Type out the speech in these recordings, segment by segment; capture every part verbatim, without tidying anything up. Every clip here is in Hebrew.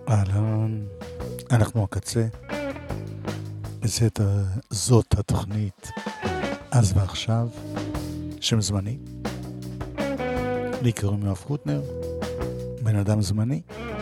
אהלן, אנחנו הקצה. זאת, זאת התוכנית אז ועכשיו, שם זמני. לי קוראים יואב חוטנר, בן אדם זמני.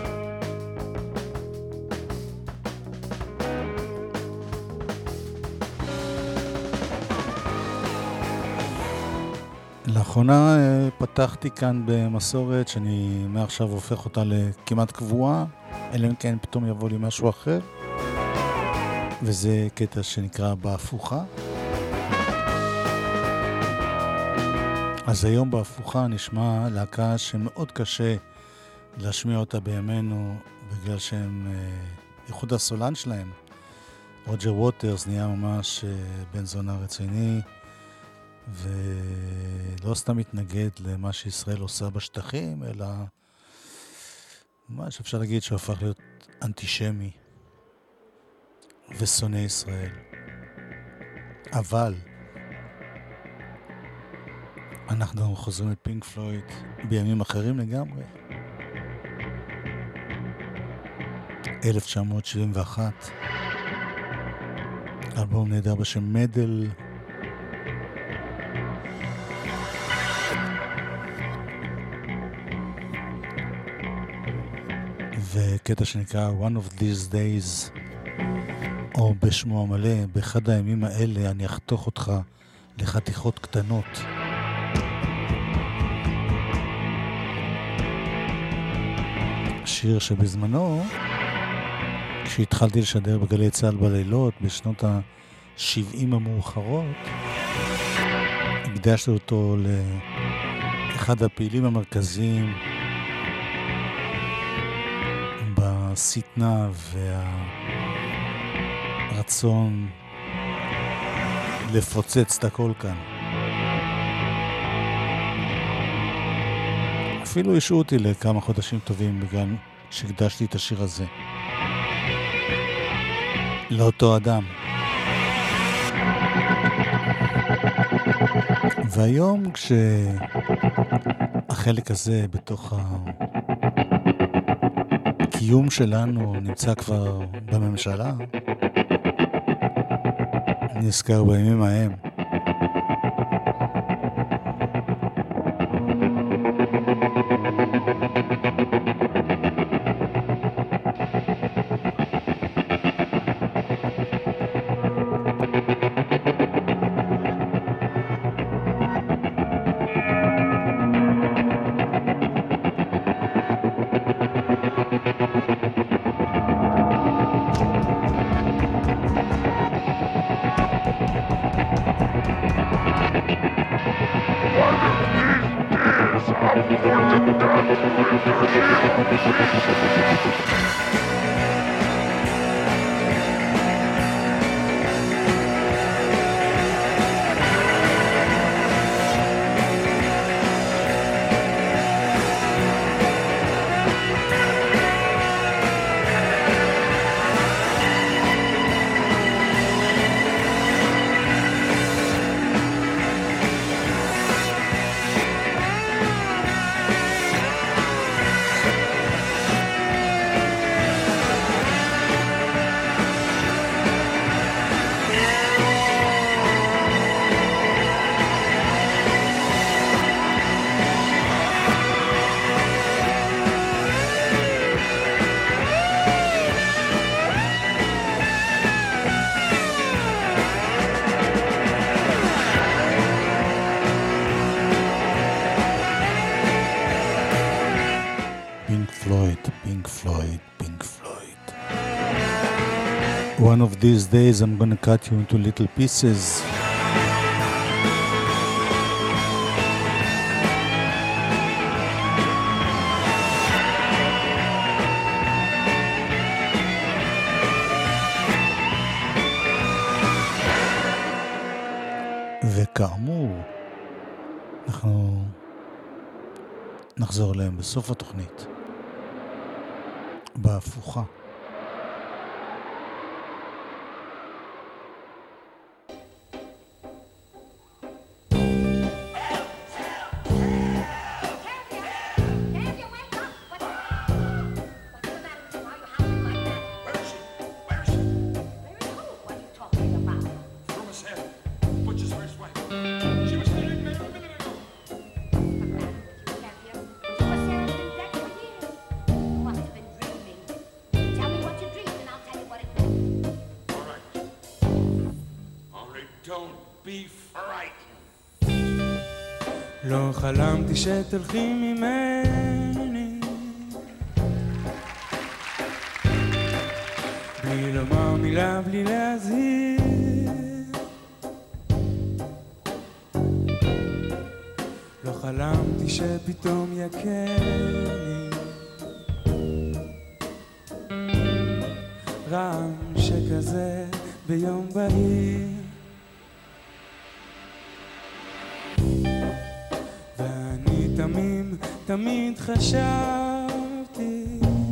לאחרונה פתחתי כאן במסורת שאני מעכשיו הופך אותה לכמעט קבועה, אלא אם כן פתאום יבוא לי משהו אחר, וזה קטע שנקרא בהפוכה. אז היום בהפוכה נשמע להקה שמאוד קשה להשמיע אותה בימינו, בגלל שהם ייחוד הסולן שלהם. רוג'ר ווטרס נהיה ממש בן זונה רציני, ולא סתם מתנגד למה שישראל עושה בשטחים, אלא מה שאפשר להגיד שהוא הפך להיות אנטישמי ושונא ישראל. אבל אנחנו חוזרים לפינק פלויד בימים אחרים לגמרי. אלף תשע מאות שבעים ואחת, אלבום נהדר בשם מדל, וקטע שנקרא One of These Days, או בשמו המלא, באחד הימים האלה אני אחתוך אותך לחתיכות קטנות. שיר שבזמנו, כשהתחלתי לשדר בגלי צהל בלילות בשנות ה-שבעים המאוחרות, הקדשתי אותו לאחד הפעילים המרכזיים בסטנה והרצון לפוצץ את הכל כאן. אפילו השעו אותי לכמה חודשים טובים בגלל שהקדשתי את השיר הזה לאותו אדם. והיום כשהחלק הזה בתוך הקיום שלנו נמצא כבר בממשלה, נזכר בימים ההם. One of these days I'm gonna cut you into little pieces. וכאמור, אנחנו נחזור אליהם בסוף התוכנית, בהפוכה. don't be frightened. לא חלמתי שתלכי ממני בלי לומר מילה, בלי להזהיר. לא חלמתי שפתאום יקני רעם שכזה ביום בהיר. ואני תמים, תמיד חשבתי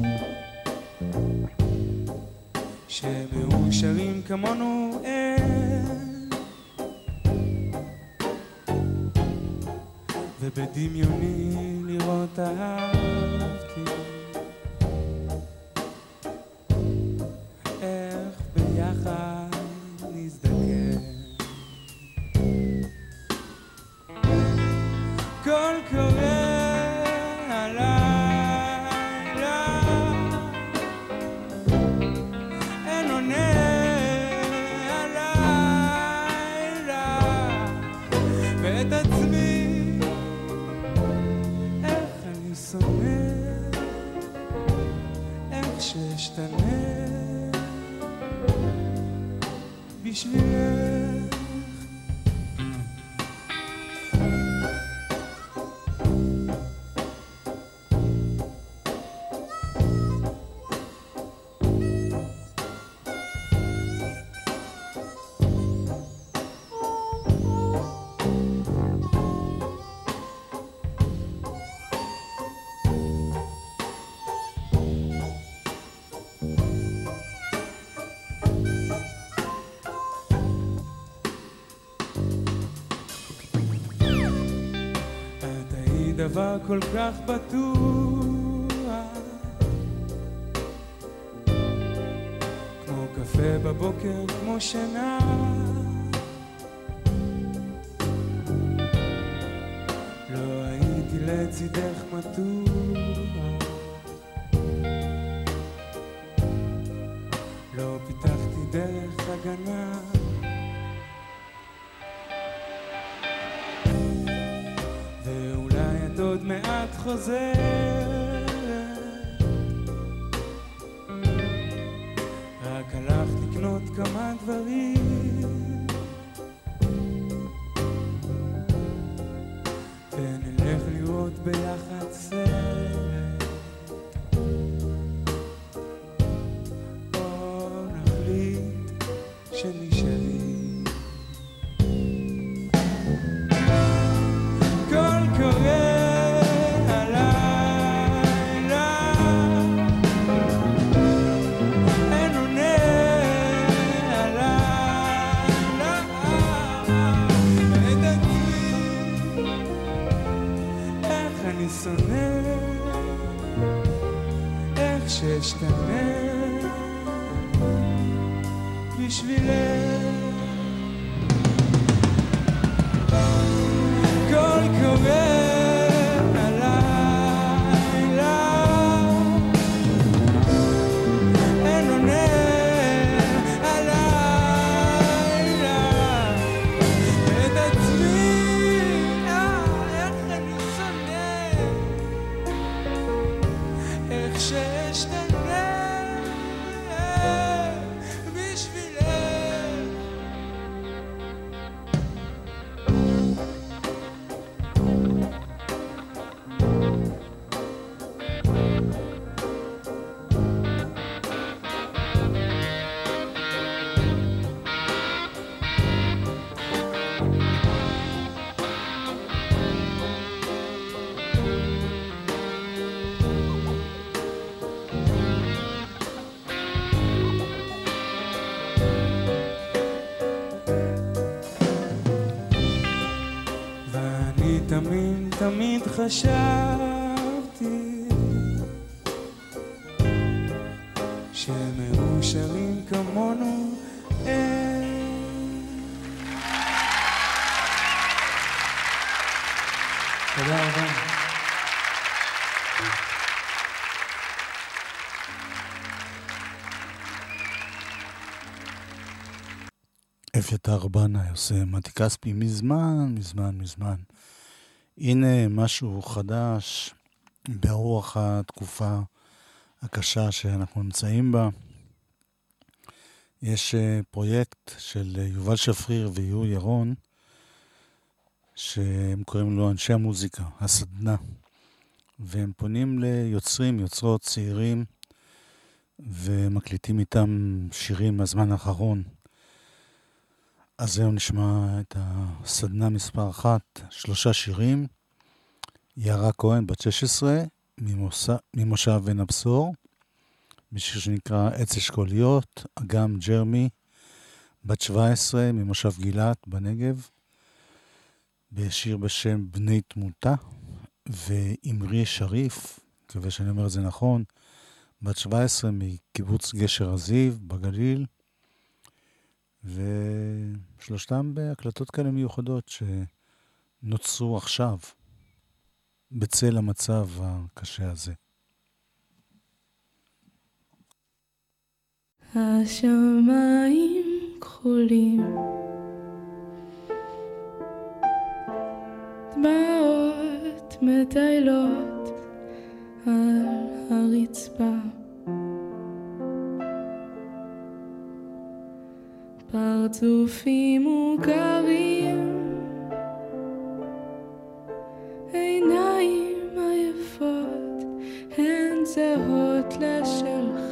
שמאושרים כמונו אין, ובדמיוני לראות אהבתי איך ביחד נזדקן. קול קורא הלילה אין עונה הלילה, ואת עצמי איך אני שונא, איך שאשתנה בשבילך. דבר כל כך בטוח כמו קפה בבוקר, כמו שינה. לא הייתי לצידך מתוח, לא פיתחתי דרך הגנה. עוד מעט חוזר, רק הלך לקנות כמה דברים ונלך לראות ביחד סרט, או נחליט שנשארים. קול קורא שונא, איך שאשתנה בשבילך. קול קורא הלילה אין עונה הלילה, ואת עצמי איך אני שונא, איך שאשתנה בשבילך. תמיד תמיד חשבתי שמאושרים כמונו אין. תודה רבה. אביתר בנאי עושה מתי כספי מזמן, מזמן, מזמן. הנה משהו חדש ברוח התקופה הקשה שאנחנו נמצאים בה. יש פרויקט של יובל שפריר ויהוא ירון, שהם קוראים לו אנשי המוזיקה, הסדנה. והם פונים ליוצרים, יוצרות צעירים, ומקליטים איתם שירים מהזמן האחרון. אז היום נשמע את הסדנה מספר אחת, שלושה שירים. יערה כהן, בת שש עשרה, ממושב, ממושב בן הבשור, בשיר שנקרא עץ אשכוליות. אגם ג'רמי, בת שבע עשרה, ממושב גילת בנגב, בשיר בשם בני תמותה. ואמרי שריף, מקווה שאני אומר את זה נכון, בת שבע עשרה, מקיבוץ גשר הזיו בגליל. ושלושתם בהקלטות כאלה מיוחדות שנוצרו עכשיו בצל המצב הקשה הזה. השמיים כחולים, דמעות מטיילות על הרצפה, פרצופים מוכרים, עיניים עייפות, הן זהות לשלך.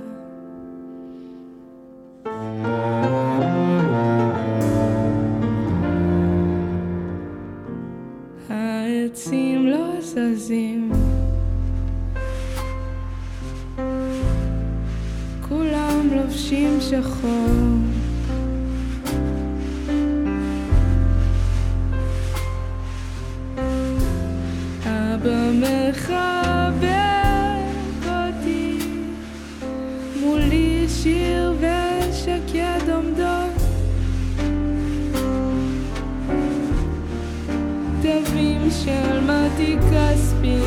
העצים לא זזים, כולם לובשים שחור, אבא מחבק אותי, מולי שיר ושקד עומדות, תווים של מתי כספי,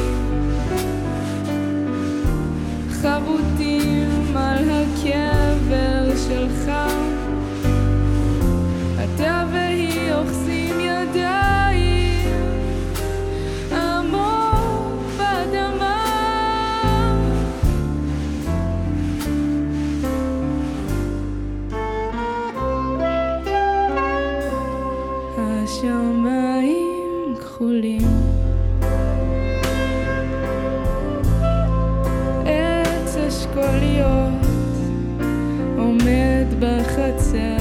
חבוטים על הקבר שלך, אתה והיא אוחזים ידיים עמוק באדמה, השמיים כחולים, עץ אשכוליות עומד בחצר,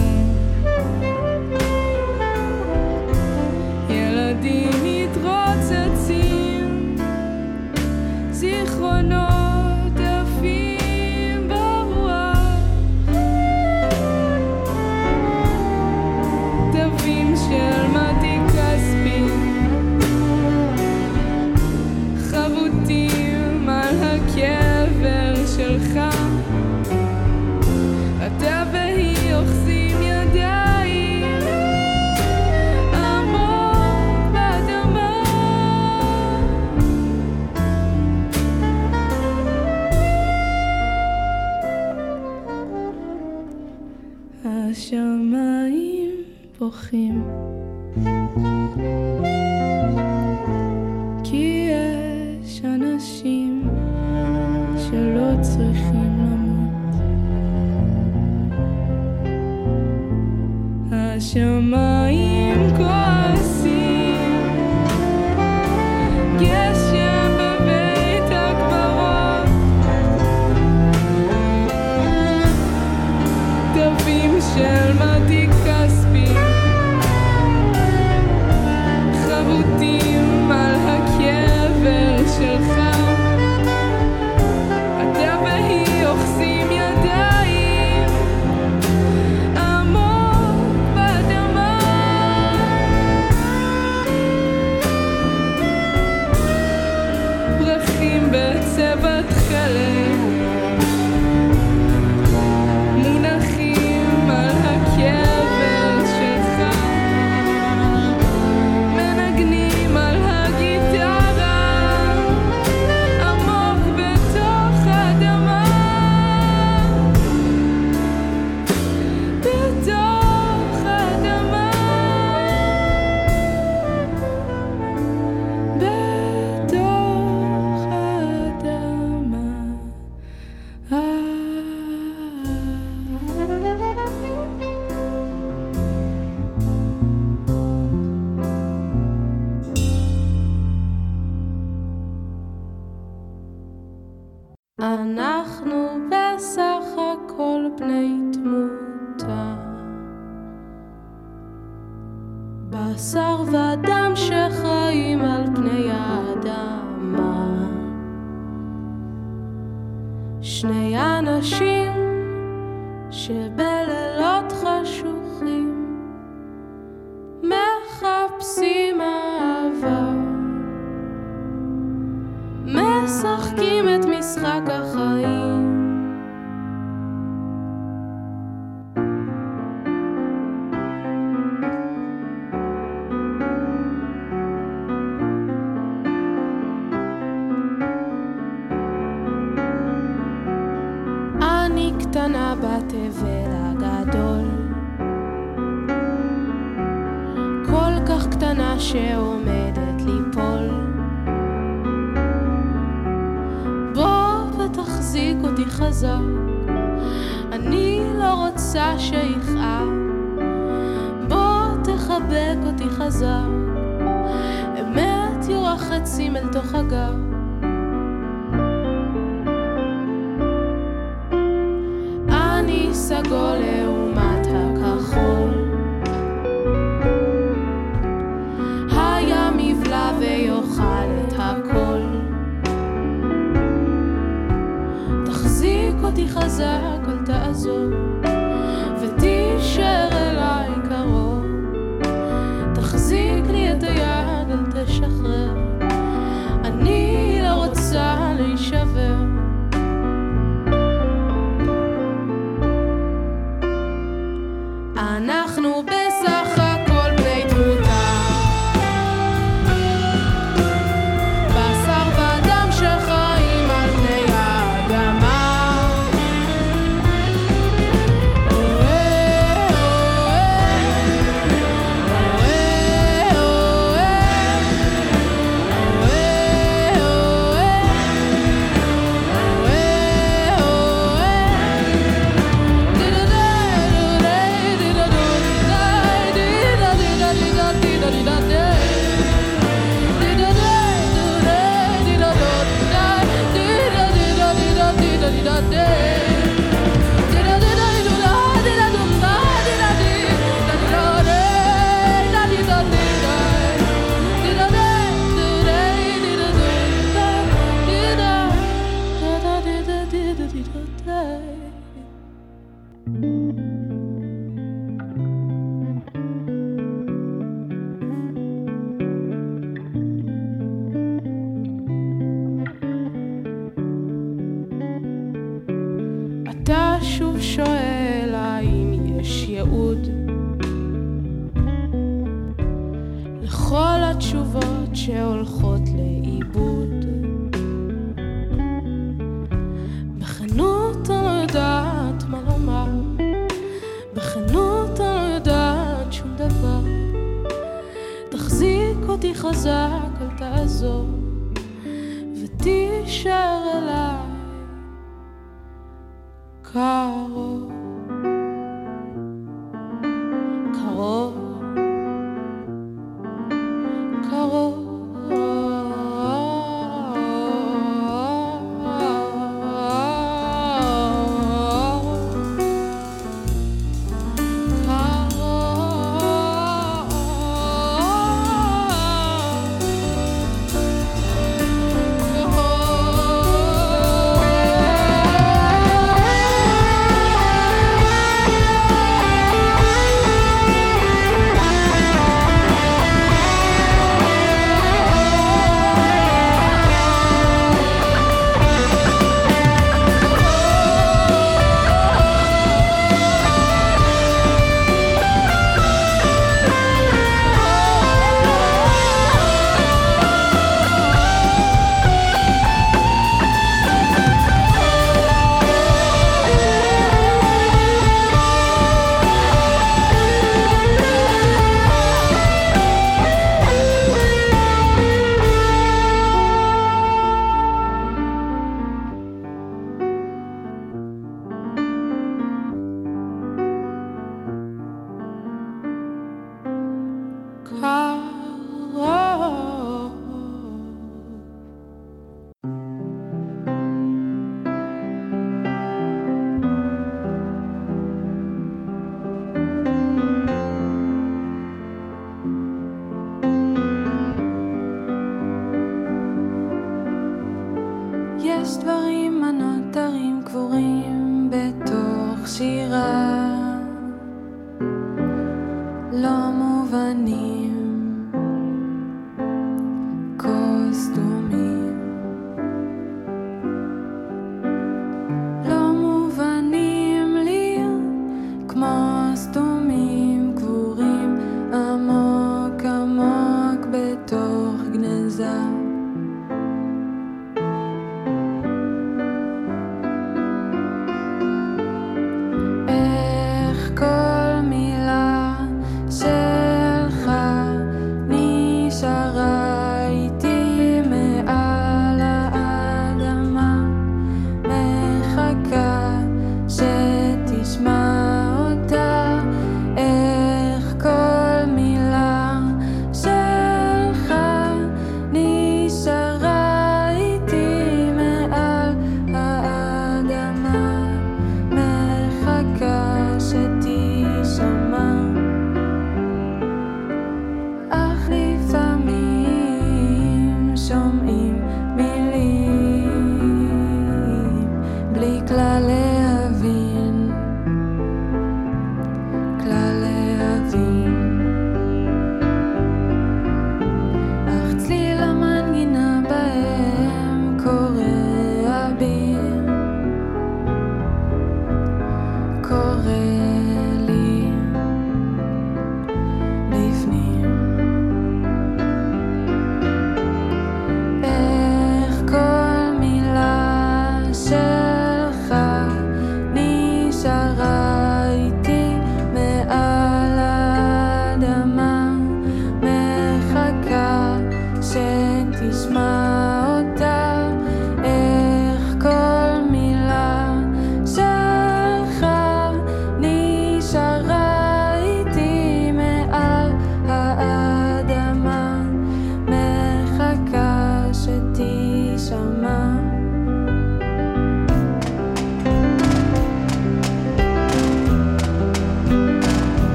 ילדים מתרוצצים, זיכרונות עפים ברוח, תווים של מתי כספי, חבוטים על הקבר שלך, אתה והיא אוחזים ידיים עמוק באדמה, השמיים בוכים, כי יש אנשים שלא צריכים למות, השמיים כועסים, גשם בבית הקברות, תווים של מתי כספי, חבוטים על הקבר שלך, אתה והיא אוחזים ידיים עמוק באדמה, אנחנו בסך הכל בני תמותה, בשר ודם שחיים על פני האדמה, שני אנשים שבלילות חשוכים מחפשים אהבה, משחקים את משחק החיים. אני קטנה בתבל הגדול, כל כך קטנה שעומדת ליפול. תחזיק אותי חזק, אני לא רוצה שיכאב, בוא תחבק אותי חזק, אמת יורה חצים אל תוך הגב. אני סגול לעומת הכחול, הים יבלע ויאכל את הכל. אותי חזק, אל תעזור, ותישאר אליי קרוב. תחזיק לי את היד, אל תשחרר, אני לא רוצה להישבר. אנחנו בסך הכל בני תמותה, בשר ודם שחיים על פני האדמה. אתה שוב שואל האם יש ייעוד לכל התשובות שהולכות לאיבוד. בכנות אני לא יודעת מה לומר, בכנות אני לא יודעת שום דבר. תחזיק אותי חזק, אל תעזור, ותישאר אליי קרוב, קרוב, קרוב. Oh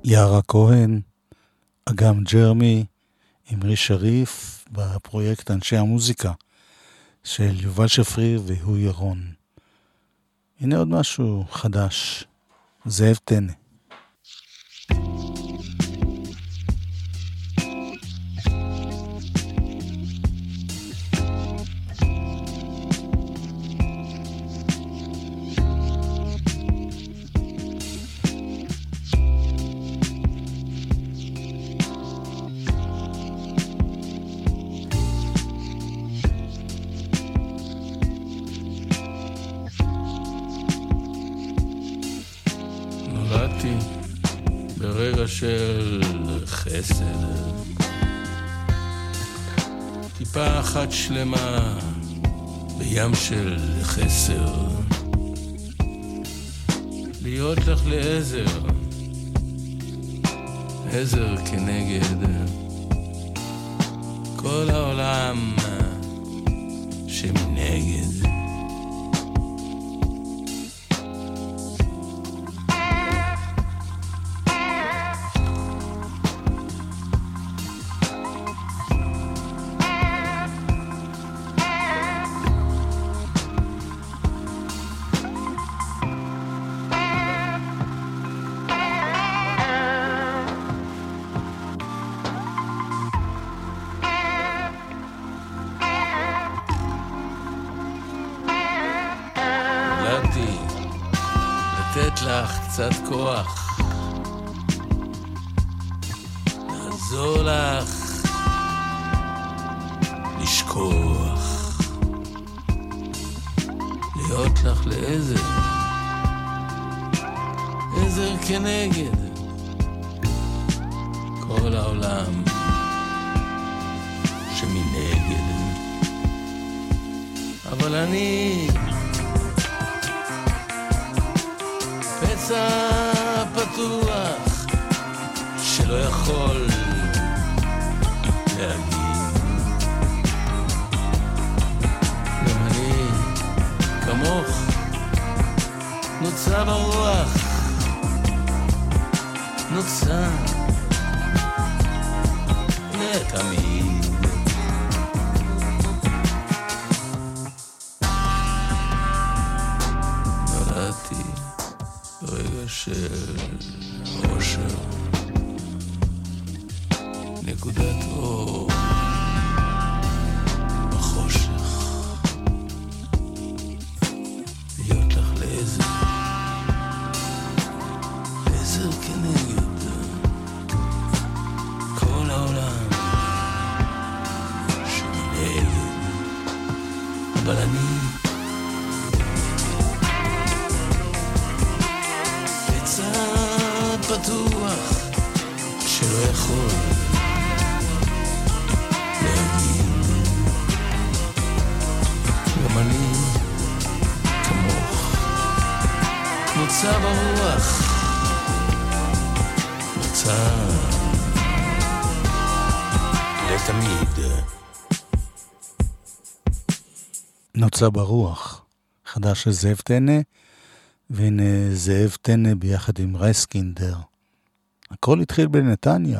יערה כהן, אגם ג'רמי, אמרי שריף, בפרויקט אנשי המוזיקה של יובל שפריר והוא ירון. הנה עוד משהו חדש, זאב טנא. של חסד, טיפה אחת שלמה בים של חסר, להיות לך לעזר, עזר כנגד כל העולם שמנגד. קצת כוח לעזור לך לשכוח, להיות לך לעזר, עזר כנגד כל העולם שמנגד. אבל אני פצע פתוח שלא יכול להגיד. גם אני כמוך נוצר ברוח, נוצר לתמיד. נולדתי רגע של אושר, נקודת אור בחושך, להיות לך לעזר, עזר כנגד כל העולם שמנגד. אבל אני פתוח שלא יכול להגיד. גם אני כמוך נוצר ברוח, נוצר לתמיד. נוצר ברוח, חדש של זאב טנא, והנה זאב טנא ביחד עם רייסקינדר. הכל התחיל בנתניה.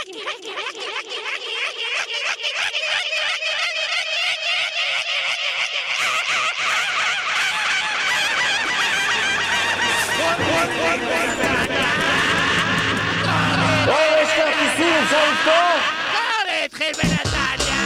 יש כרטיסים, אפשר לפתוח? לא, התחיל בנתניה.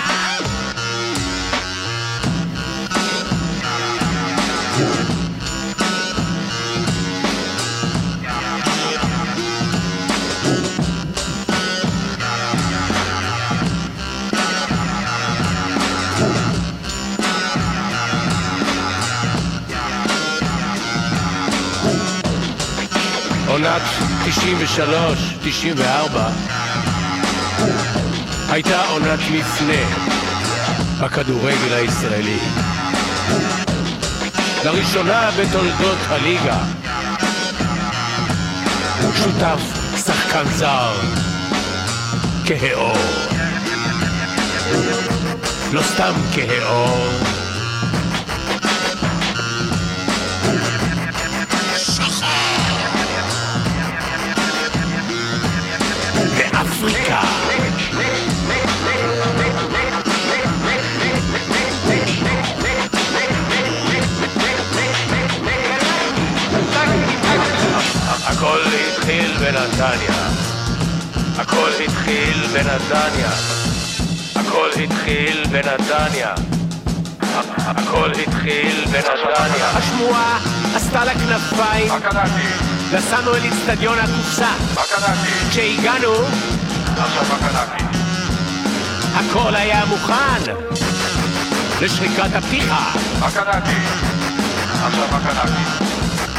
עונת תשעים ושלוש תשעים וארבע הייתה עונת מפנה בכדורגל הישראלי. לראשונה בתולדות הליגה שותף שחקן זר כהאור, לא סתם כהאור, אפריקה. הכל התחיל בנתניה, הכל התחיל בנתניה, הכל התחיל בנתניה, הכל התחיל בנתניה. השמועה עשתה לה כנפיים, נסענו אל אצטדיון הקופסה, כשהגענו הכל היה מוכן לשריקת הפתיחה. עכשיו הקנאקי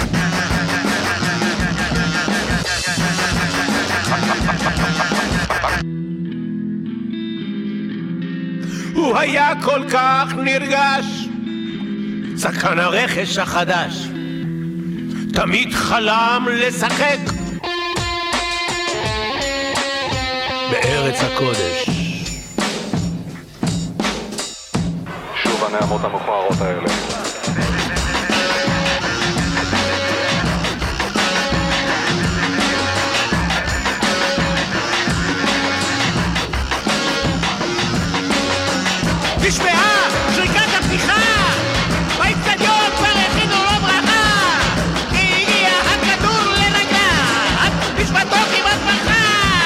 הוא היה כל כך נרגש, שחקן הרכש החדש, תמיד חלם לשחק בארץ הקודש. שוב הנעמות המכוערות האלה. נשמעה שריקת הפתיחה, באצטדיון כבר הכינו לו ברכה, כי הגיע הכדור לרגליו, נשמתו כמעט ברכה.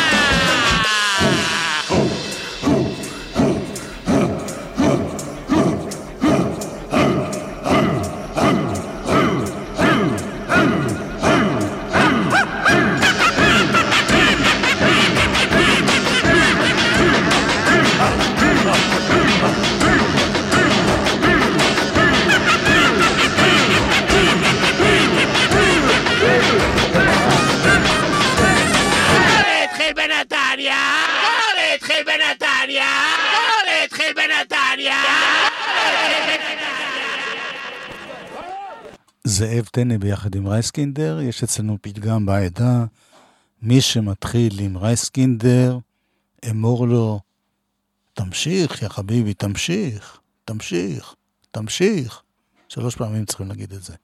זאב טנא ביחד עם רייסקינדר. יש אצלנו פתגם בעדה, מי שמתחיל עם רייסקינדר אמור לו תמשיך יא חביבי, תמשיך, תמשיך, תמשיך. שלוש פעמים צריכים להגיד את זה.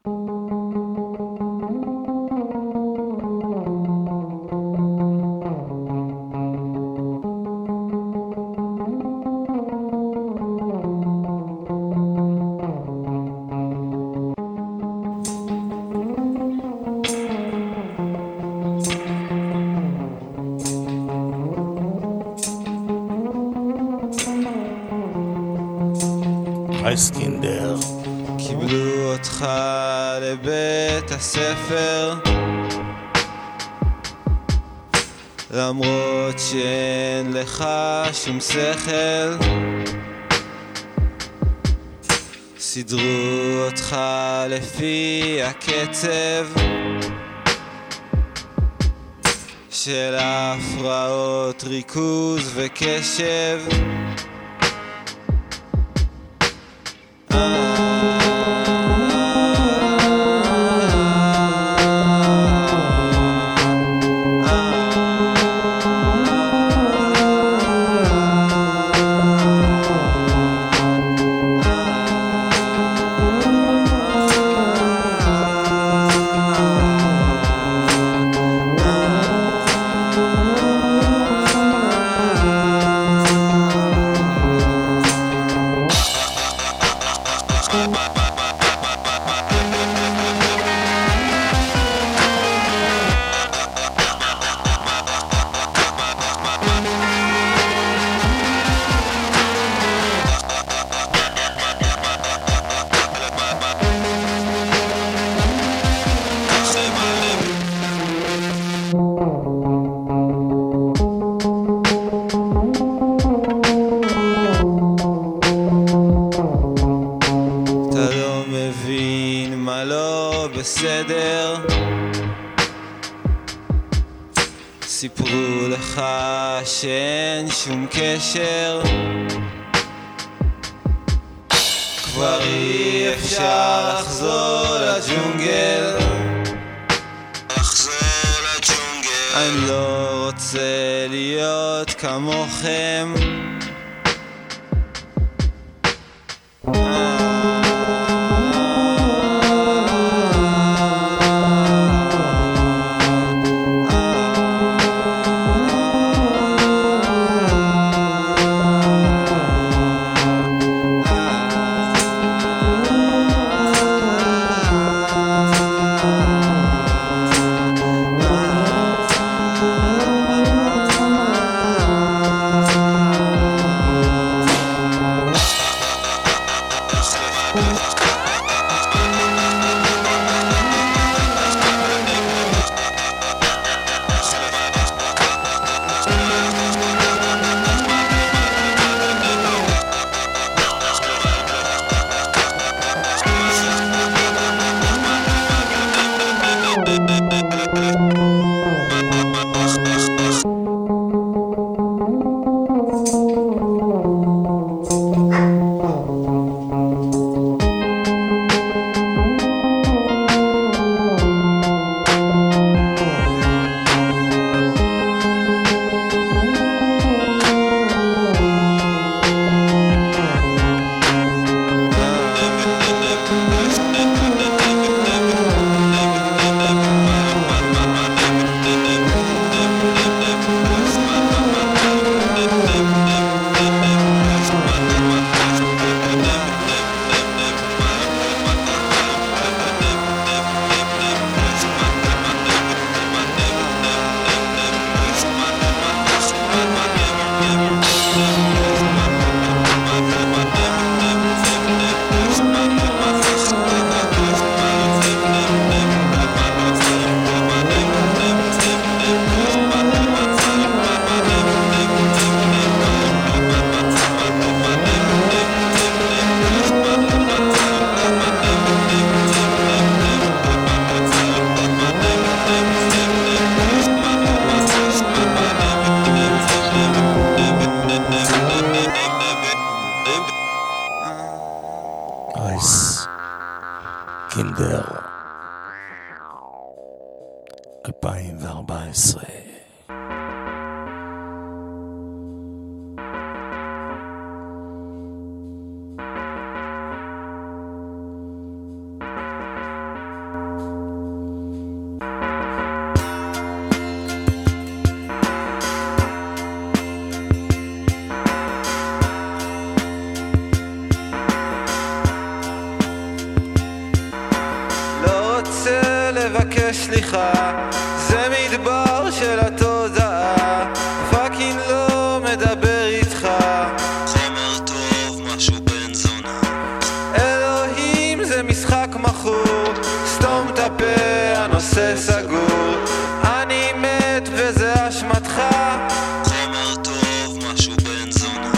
רייסקינדר. קיבלו אותך לבית הספר למרות שאין לך שום שכל, סידרו אותך לפי הקצב של הפרעות ריכוז וקשב. סיפרו לך שאין שום קשר, כבר אי אפשר לחזור לג'ונגל, לחזור לג'ונגל. אני לא רוצה להיות כמוכם, קינדר, אלפיים וארבע עשרה. סליחה, זה מדבר של התודעה, פאקינג לא מדבר איתך, חומר טוב, משהו בן זונה, אלוהים זה משחק מחור, סתום את הפה, הנושא סגור, אני מת וזה אשמתך, חומר טוב, משהו בן זונה.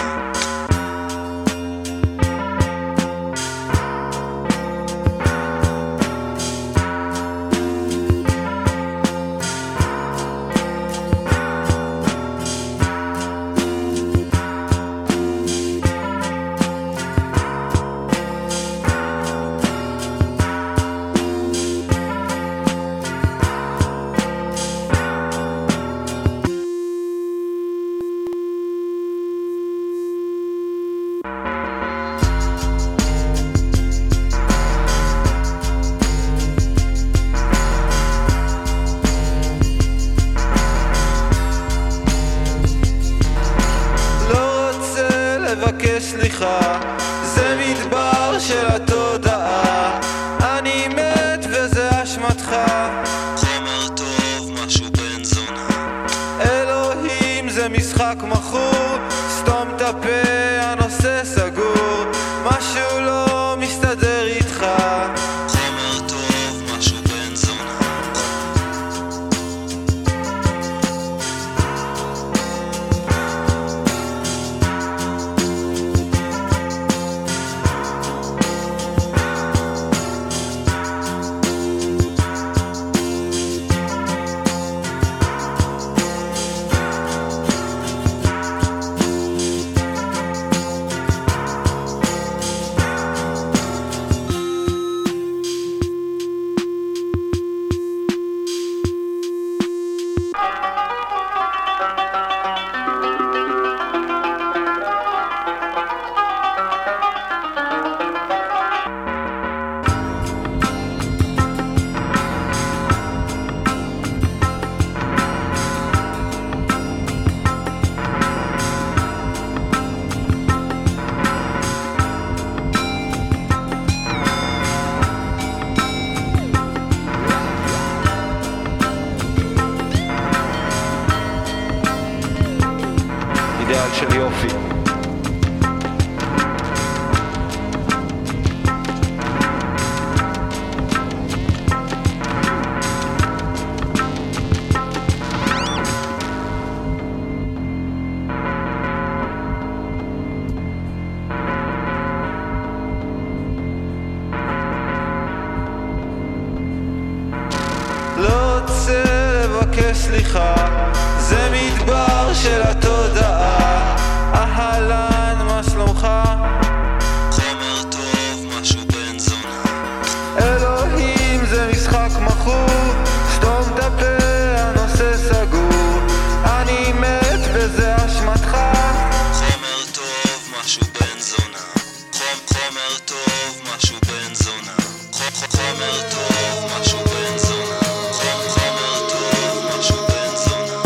מבקש סליחה, זה מדבר של התודעה. אהלן, מה שלומך? חומר טוב, משהו בן זונה. אלוהים, זה משחק מכור, סתום את הפה, הנושא סגור. אני מת וזה אשמתך. חומר טוב, משהו בן זונה. חומר טוב, משהו בן זונה. חומר טוב, משהו בן זונה. חומר טוב, משהו בן זונה.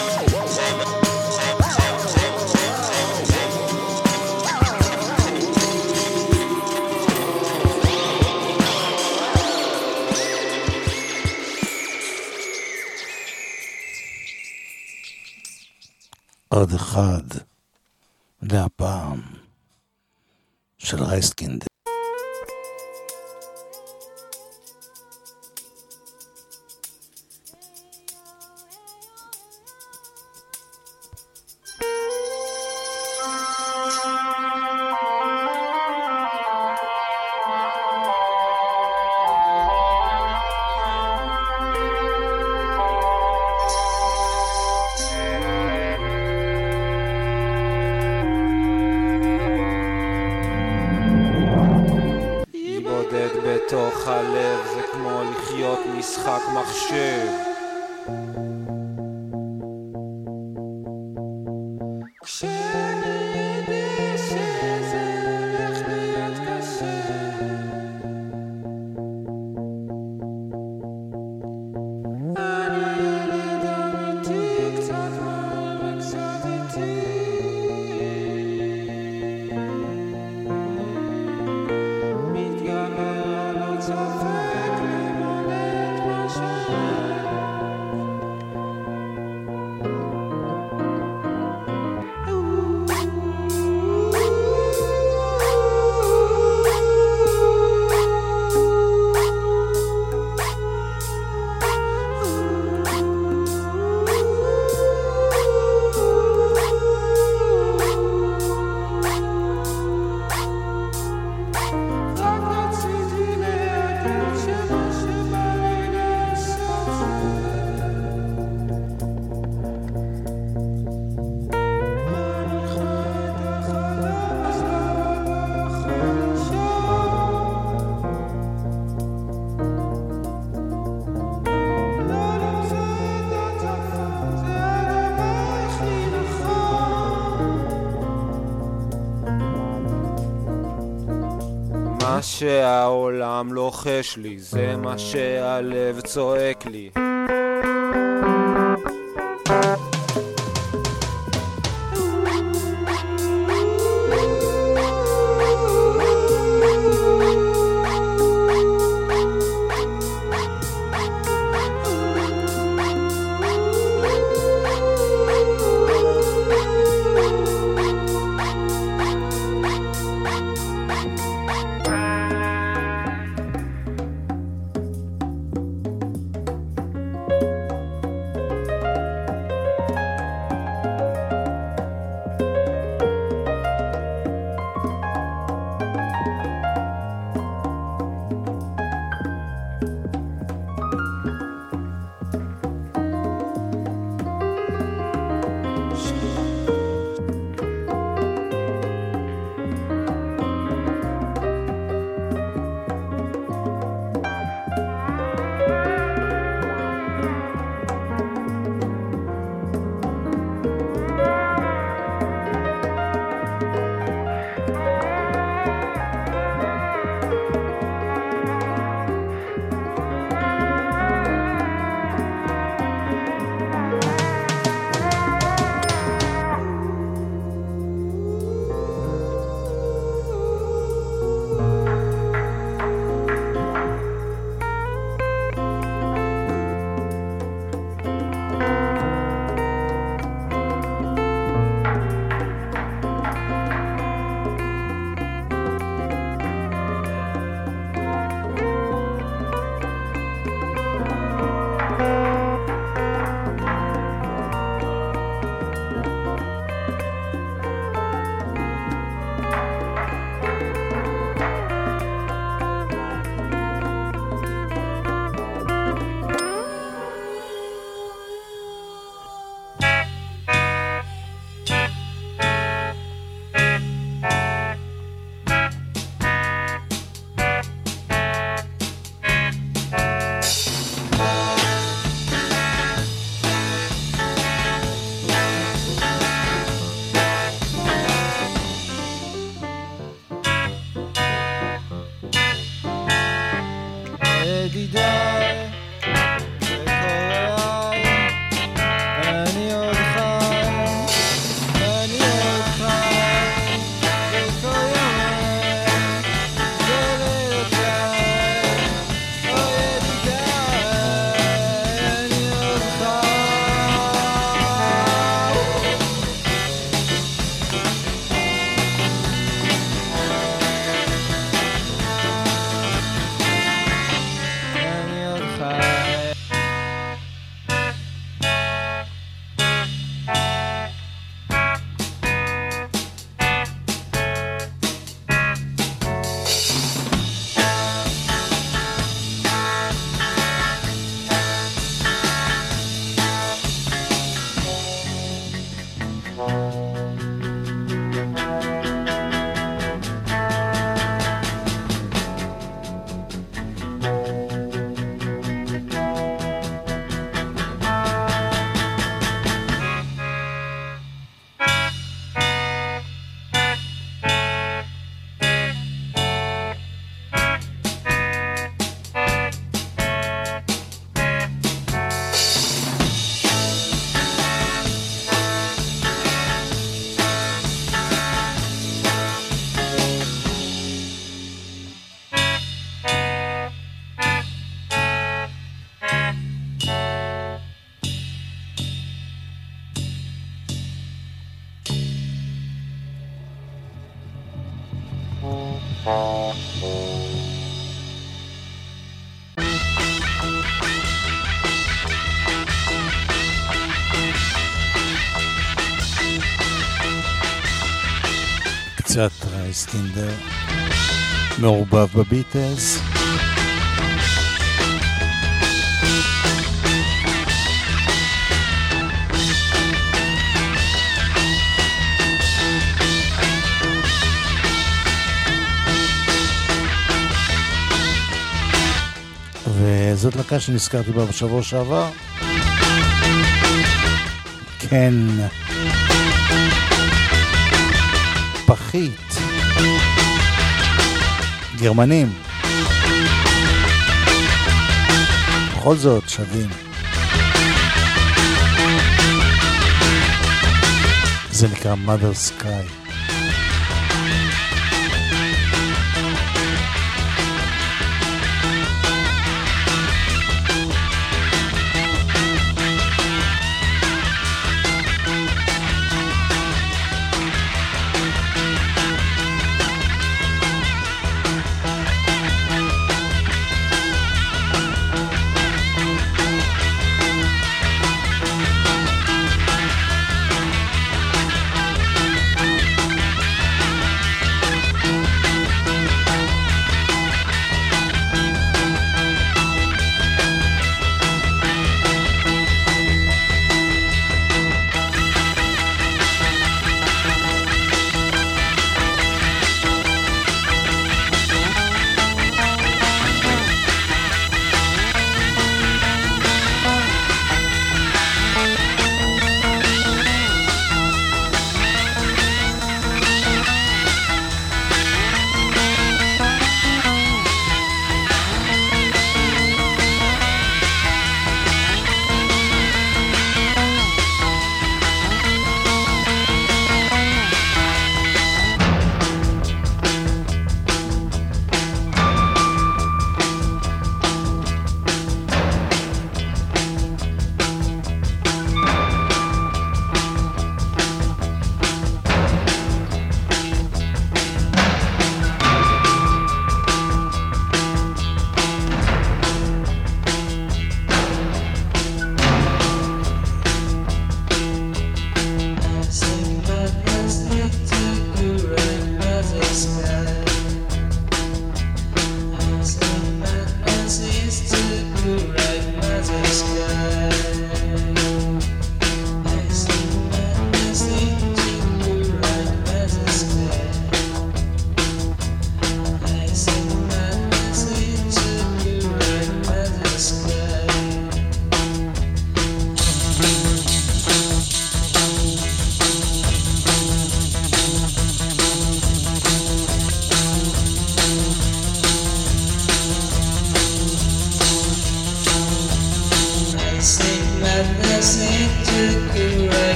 עוד אחד להפעם של רייסקינד. בתוך הלב זה כמו לחיות משחק מחשב. מה שהעולם לוחש לי, זה מה שהלב צועק לי. ידידיי וקוראי, אני עוד חי, אני עוד חי בכל יומי ולילותיי, או ידידיי, אני עוד חי. קצת רייסטינדר מעורבב בביטלס. וזאת להקה שנזכרתי בה בשבוע שעבר. כן, פחית, גרמנים, בכל זאת שווים. זה נקרא Mother Sky.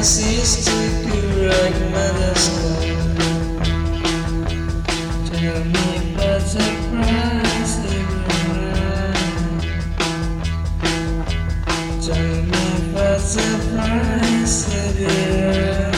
sister could rock mother's sky. Tell me about the price they run. Tell me about the price they run.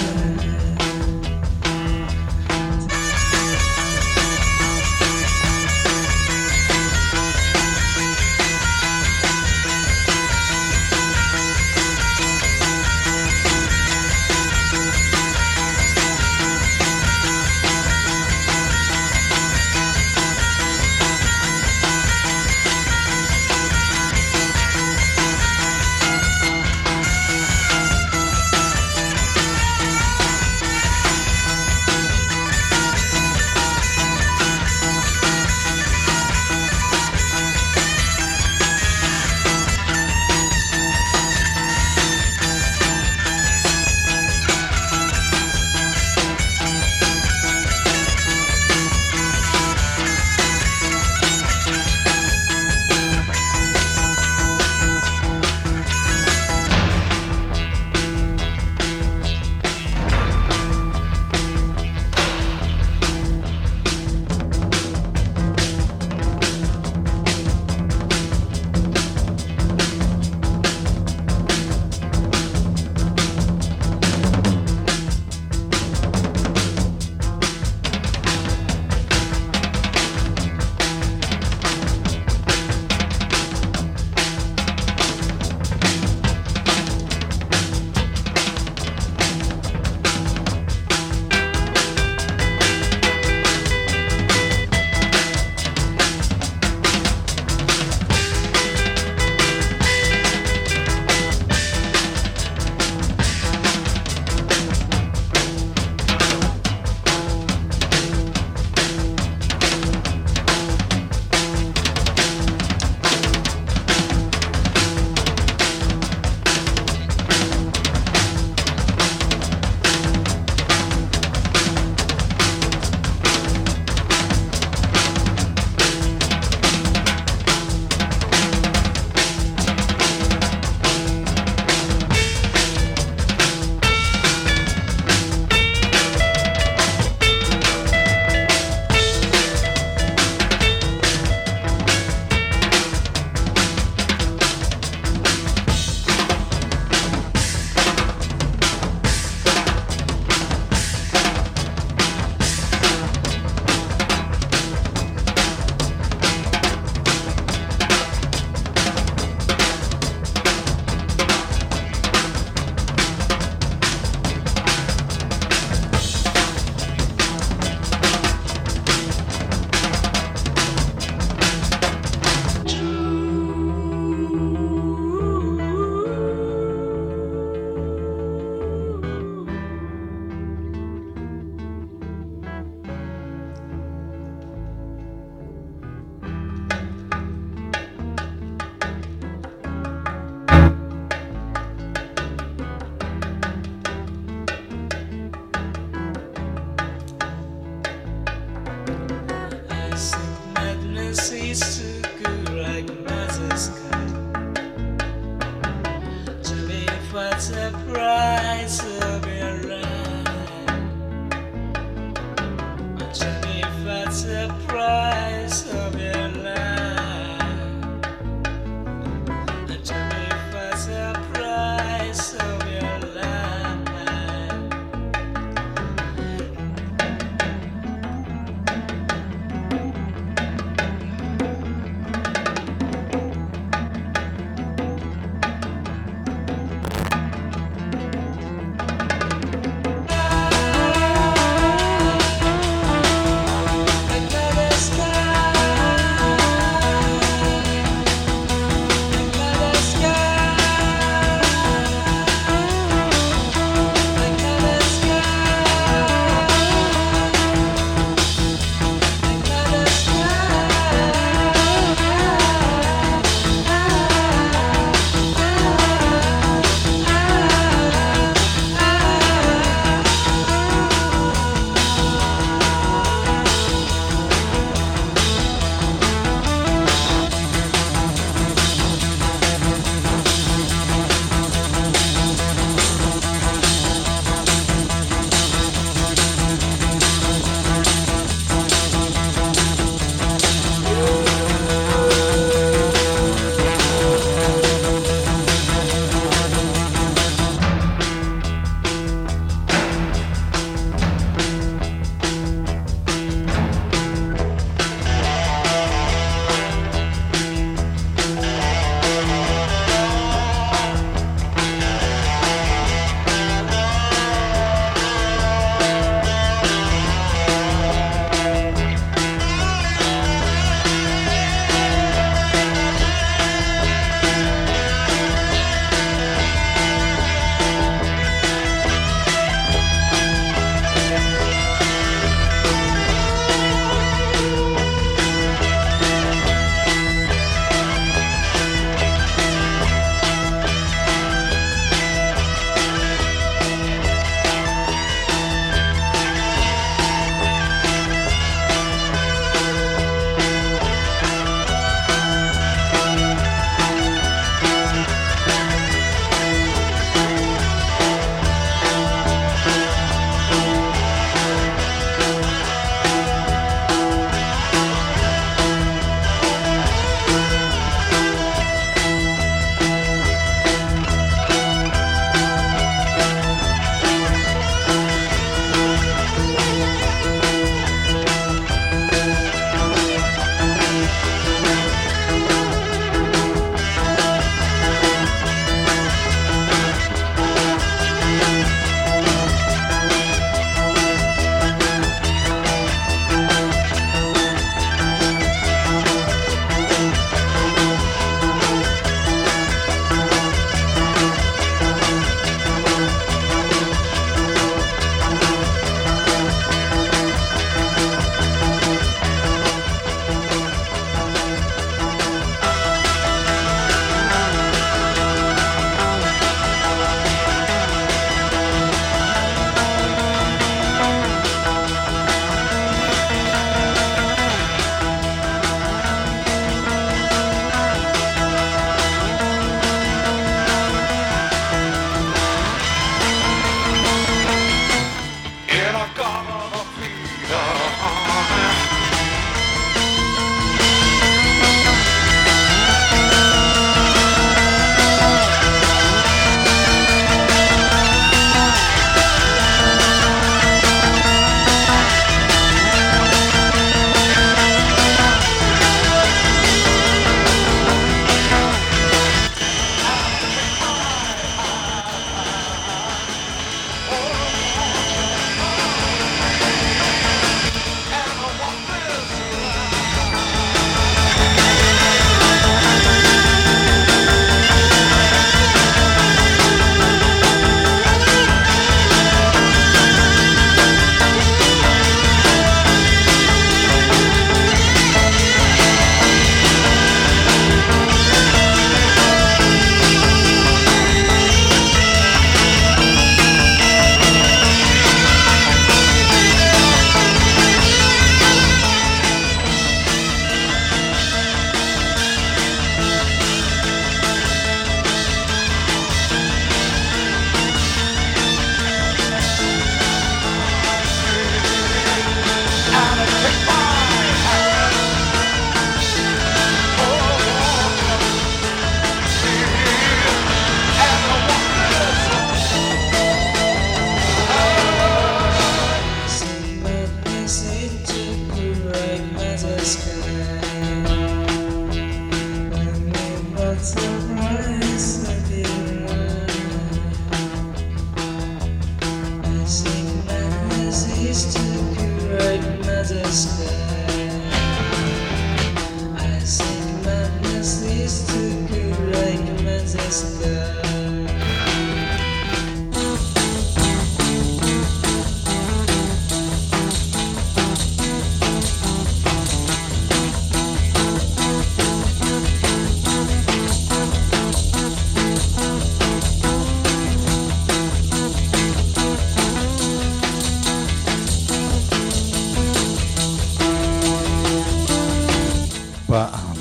פעם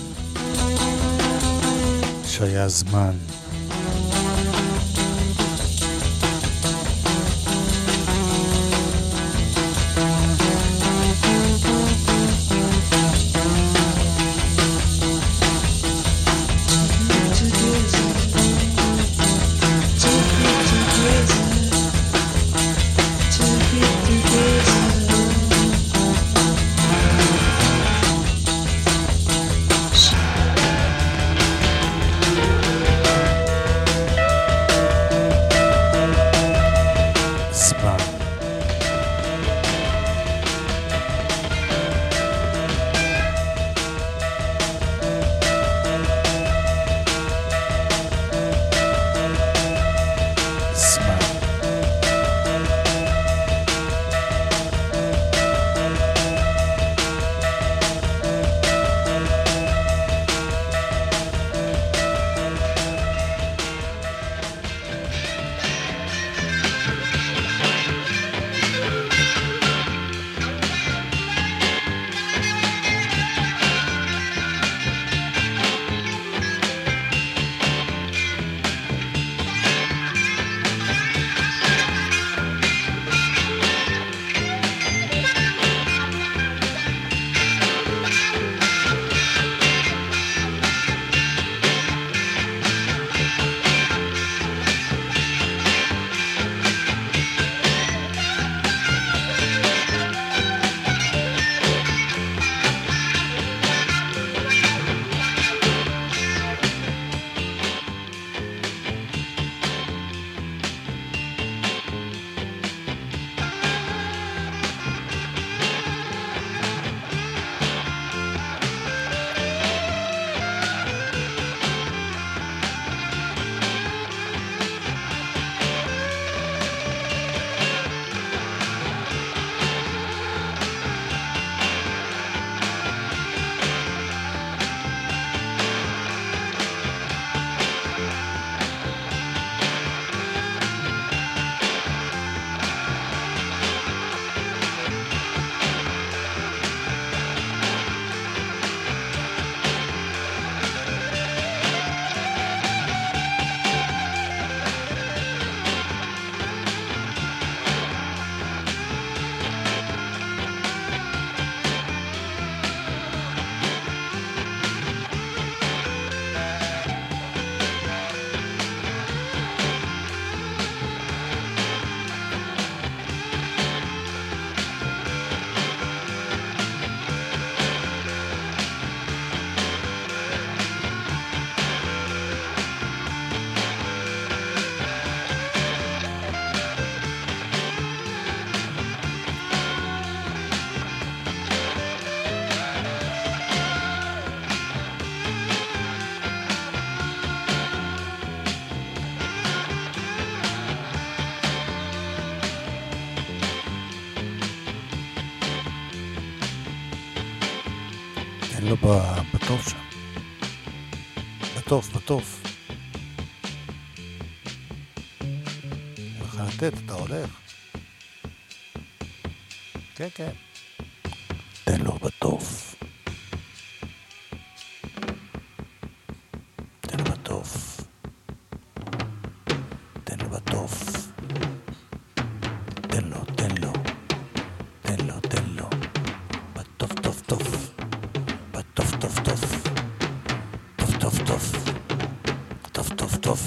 שהיה זמן תן לו בטוף שם. בטוף, בטוף. איך לתת, אתה הולך. כן, כן. תן לו בטוף. תן לו בטוף. תן לו בטוף. תן לו, תן לו. תן לו, תן לו. בטוף, טוף, טוף. בטוף, טוף, טוף. טוף, טוף, טוף. טוף, טוף, טוף.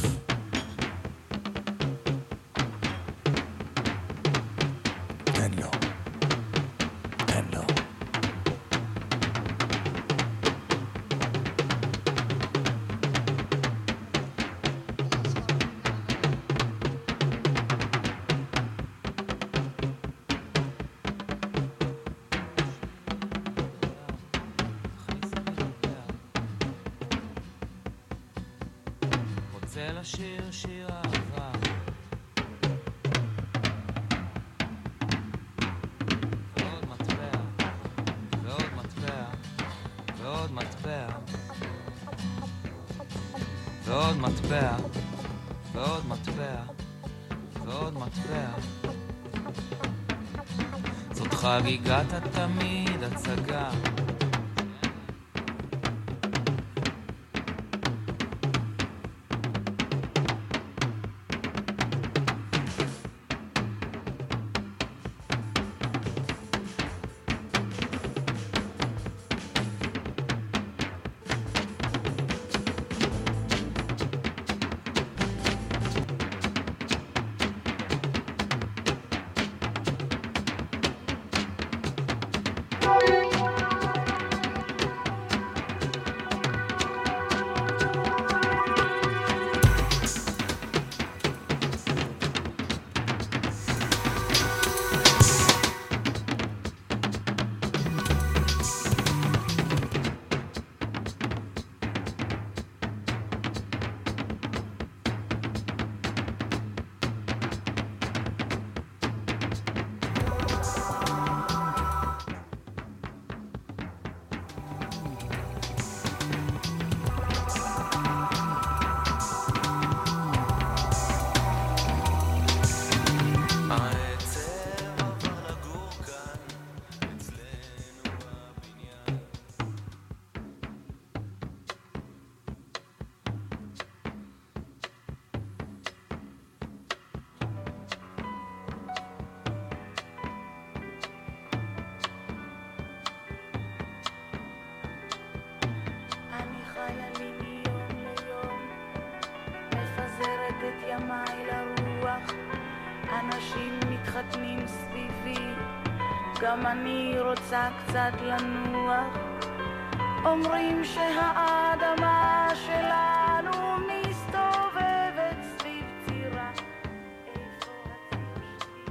תן לו. תן לו. רוצה לשיר שיר אהבה ועוד מטבע ועוד מטבע ועוד מטבע ועוד מטבע ועוד מטבע ועוד מטבע זאת חגיגת התמיד הצגה אנשים מתחתנים סביבי, גם אני רוצה קצת לנוח. אומרים שהאדמה שלנו מסתובבת סביב צירה. איפה הציר שלי?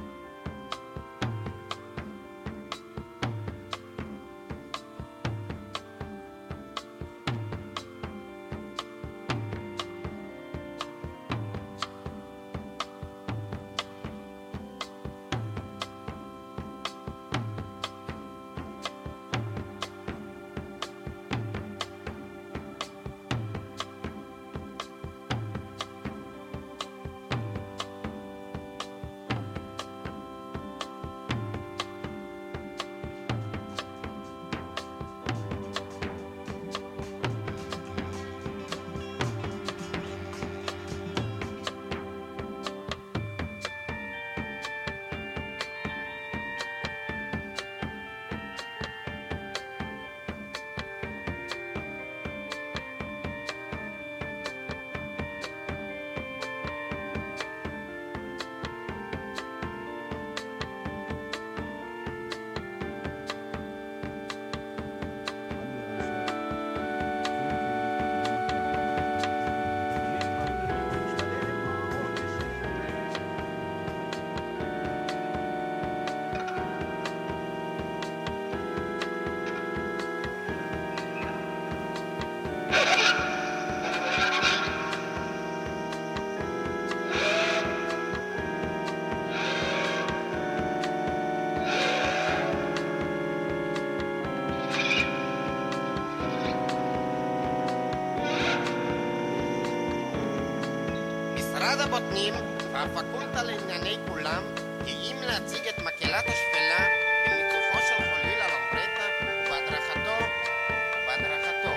הבוטנים והפקולטה לענייני כולם גאים להציג את מקהלת השפלה בניצוחו של חוליל על אורטטה ובהדרכתו ובהדרכתו.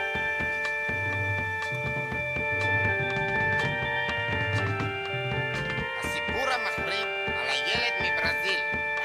הסיפור המחריד על הילד מברזיל.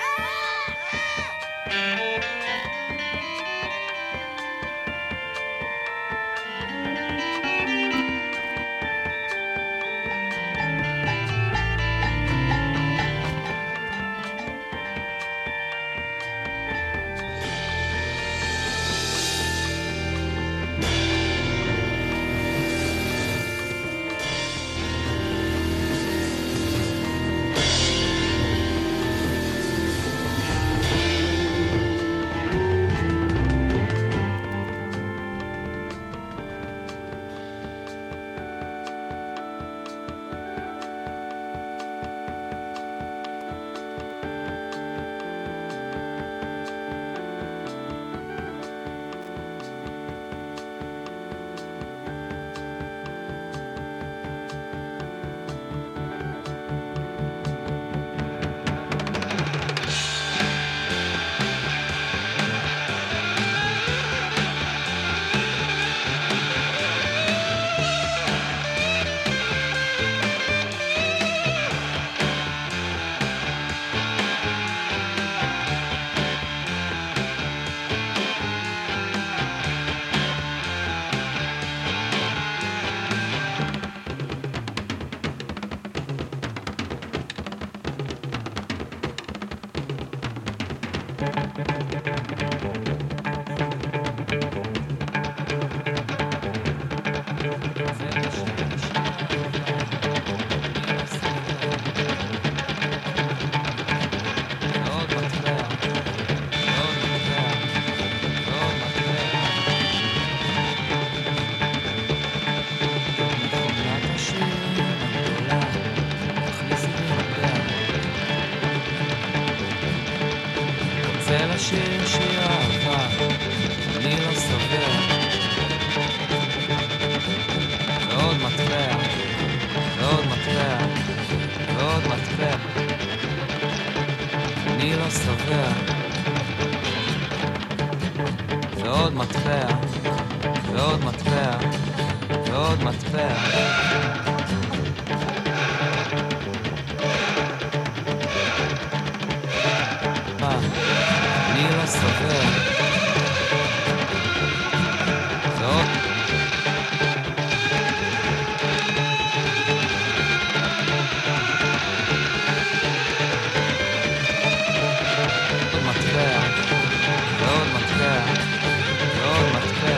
השיר שהיא אהבה, אני לא סובר. ועוד מטבע, ועוד מטבע, ועוד מטבע, אני לא סובר. ועוד מטבע, ועוד מטבע, ועוד מטבע. אני לא סובר. זאת עוד מטבע, ועוד מטבע, ועוד מטבע,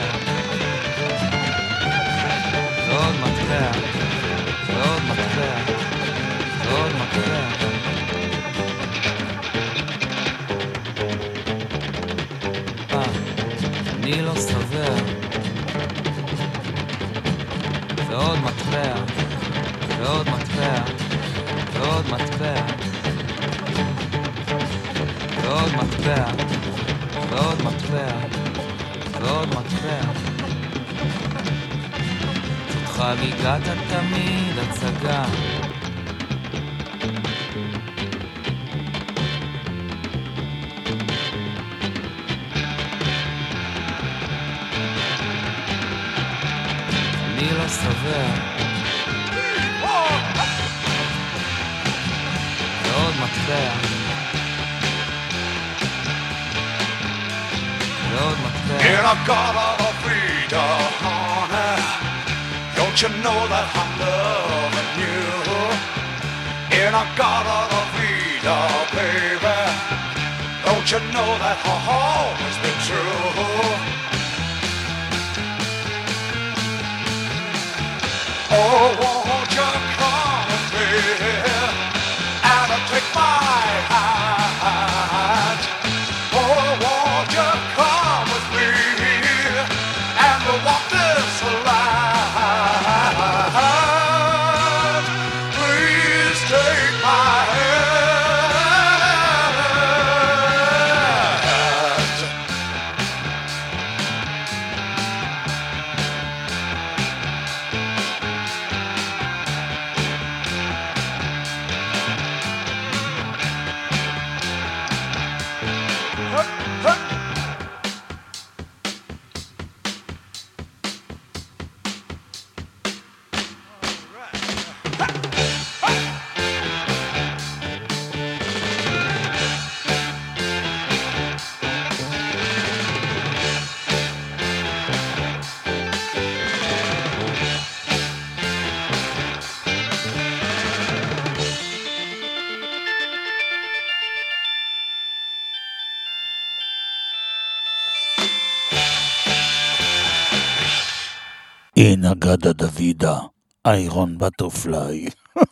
ועוד מטבע, ועוד מטבע, ועוד מטבע. אני לא סובר. ועוד מטבע, ועוד מטבע, ועוד מטבע, ועוד מטבע, ועוד מטבע, ועוד מטבע. זאת חגיגת התמיד הצגה. אני לא סובר. ועוד מטבע, ועוד מטבע. In a garden of freedom, honey, don't you know that I'm loving you? In a garden of freedom, baby, don't you know that I've always been true? Oh, won't you come with me and take my hand? Oh, won't you come with me and we'll walk this line? Please take my hand. Inagada Davida, Iron Butterfly.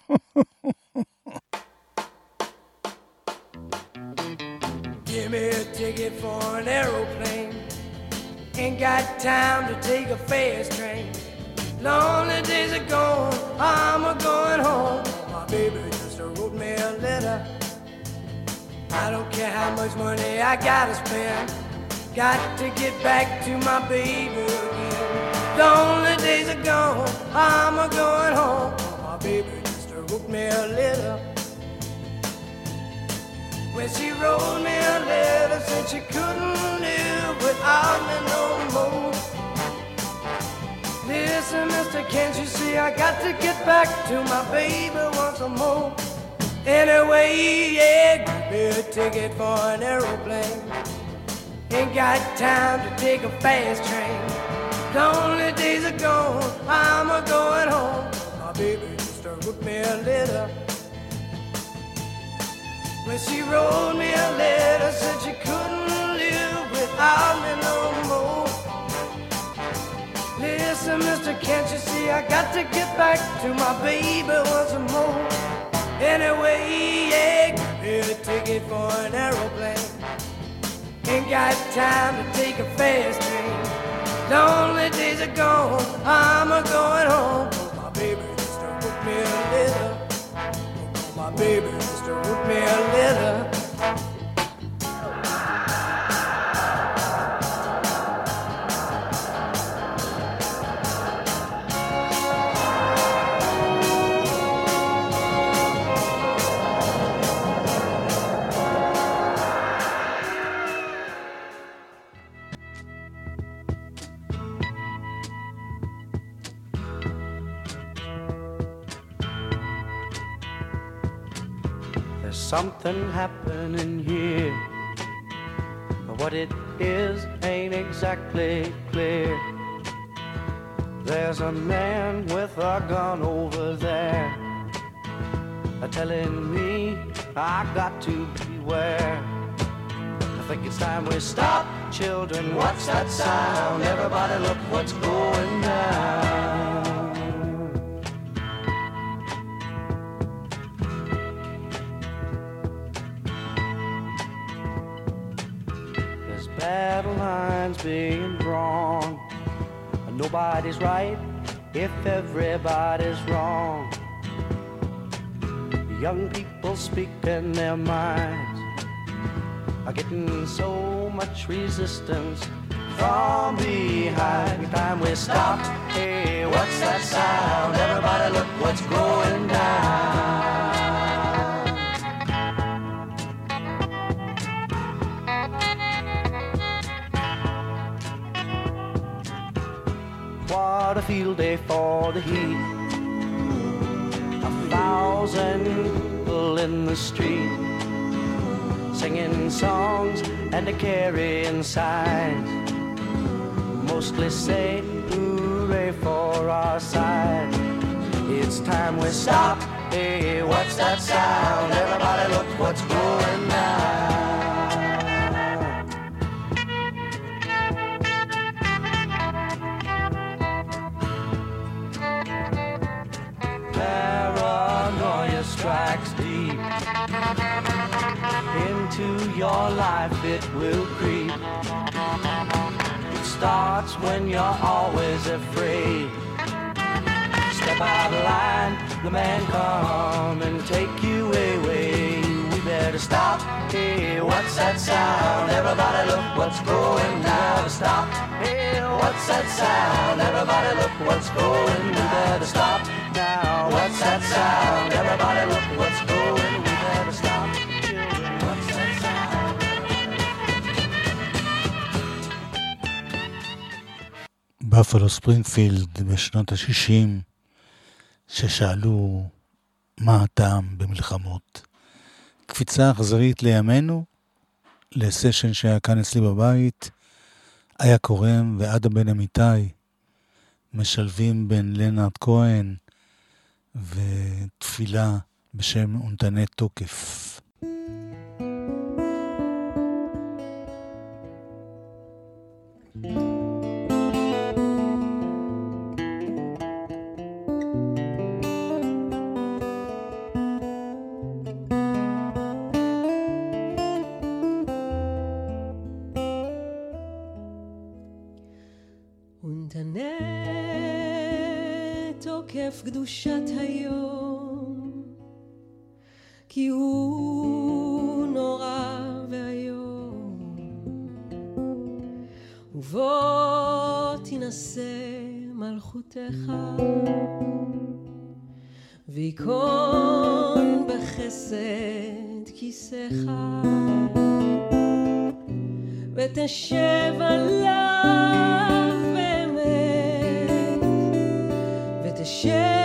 Give me a ticket for an aeroplane. Ain't got time to take a fast train. Lonely days are gone, I'm a going home. My baby just wrote me a letter. I don't care how much money I gotta spend. Got to get back to my baby again. Lonely days are gone, I'm a going home. My baby just wrote me a letter. When she wrote me a letter, said she couldn't live without me no more. Listen, mister, can't you see I got to get back to my baby once more. Anyway, yeah, give me a ticket for an aeroplane. Ain't got time to take a fast train. Lonely days are gone, I'm a going home. My baby just wrote me a letter. When she wrote me a letter, said she couldn't live without me no more. Listen, mister, can't you see I got to get back to my baby once more. Anyway, yeah, give me a ticket for an aeroplane. Ain't got time to take a fast train. Lonely days are gone, I'm a going home. My baby just wrote me a letter. My baby just wrote me a letter. Something happening here, but what it is ain't exactly clear. There's a man with a gun over there, telling me I got to beware. I think it's time we stop, children. What's that sound? Everybody look what's going down. Battle lines being drawn. Nobody's right if everybody's wrong. Young people speaking their minds are getting so much resistance from behind. Time we stop. Hey, what's that sound? Everybody look what's going down. What a field day for the heat. A thousand people in the street, singing songs and carrying signs, mostly say hooray for our side. It's time we stop. Hey, what's that sound? Everybody look what's going down. Strikes deep into your life, it will creep. It starts when you're always afraid. Step out of line, the man come and take you away. We better stop. Hey, what's that sound? Everybody look what's going down. Stop. Hey, what's that sound? Everybody look what's going down. We better stop. Now, what's that sound? Everybody look what's going. We better stop. Children, what's that sound? בפלו ספרינגפילד בשנות ה-שישים, ששאלו מה הטעם במלחמות. קפיצה אכזרית לימינו, לסשן שהיה כאן אצלי בבית, איה קורם ועדה בן אמיתי, משלבים בין לנארד כהן ותפילה בשם אונתני תוקף. קדושת היום, כי הוא נורא והיום, ובוא תנסה מלכותך, ויקון בחסד כיסך, ותשב עליו באמת, ותשב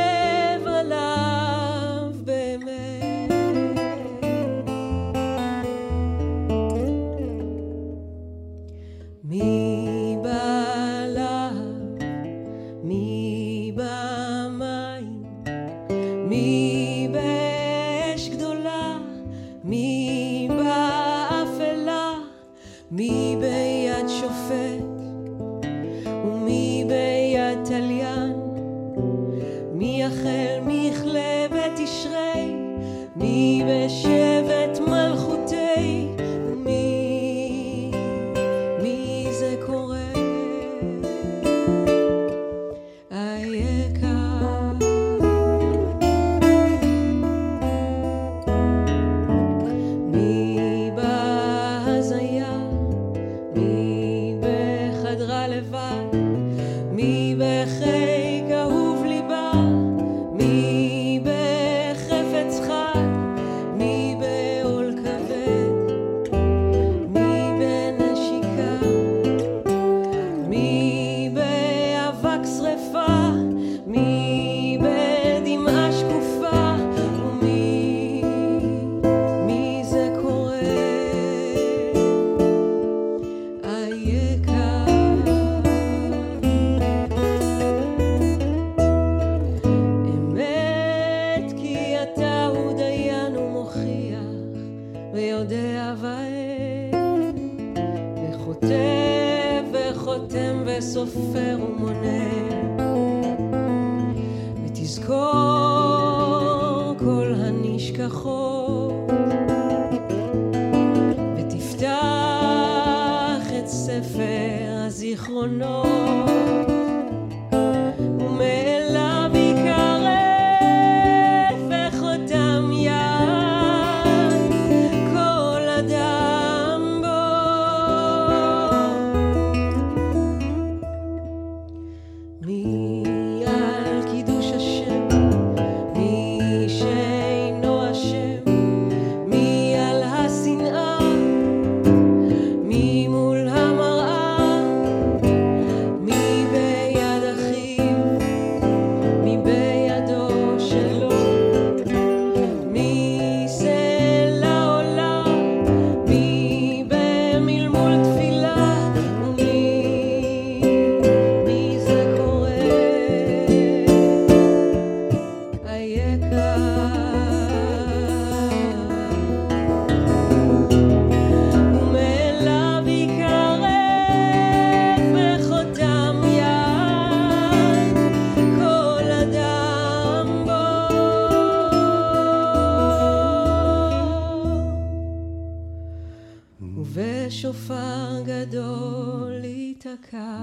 ובשופר גדול ייתקע,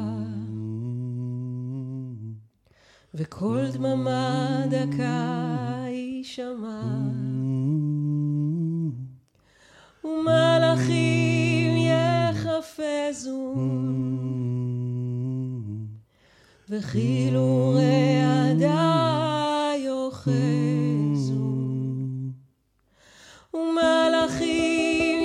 וכל דממה דקה יישמע, ומלאכים יחפזו, וחילורי עדה יוחזו, ומלאכים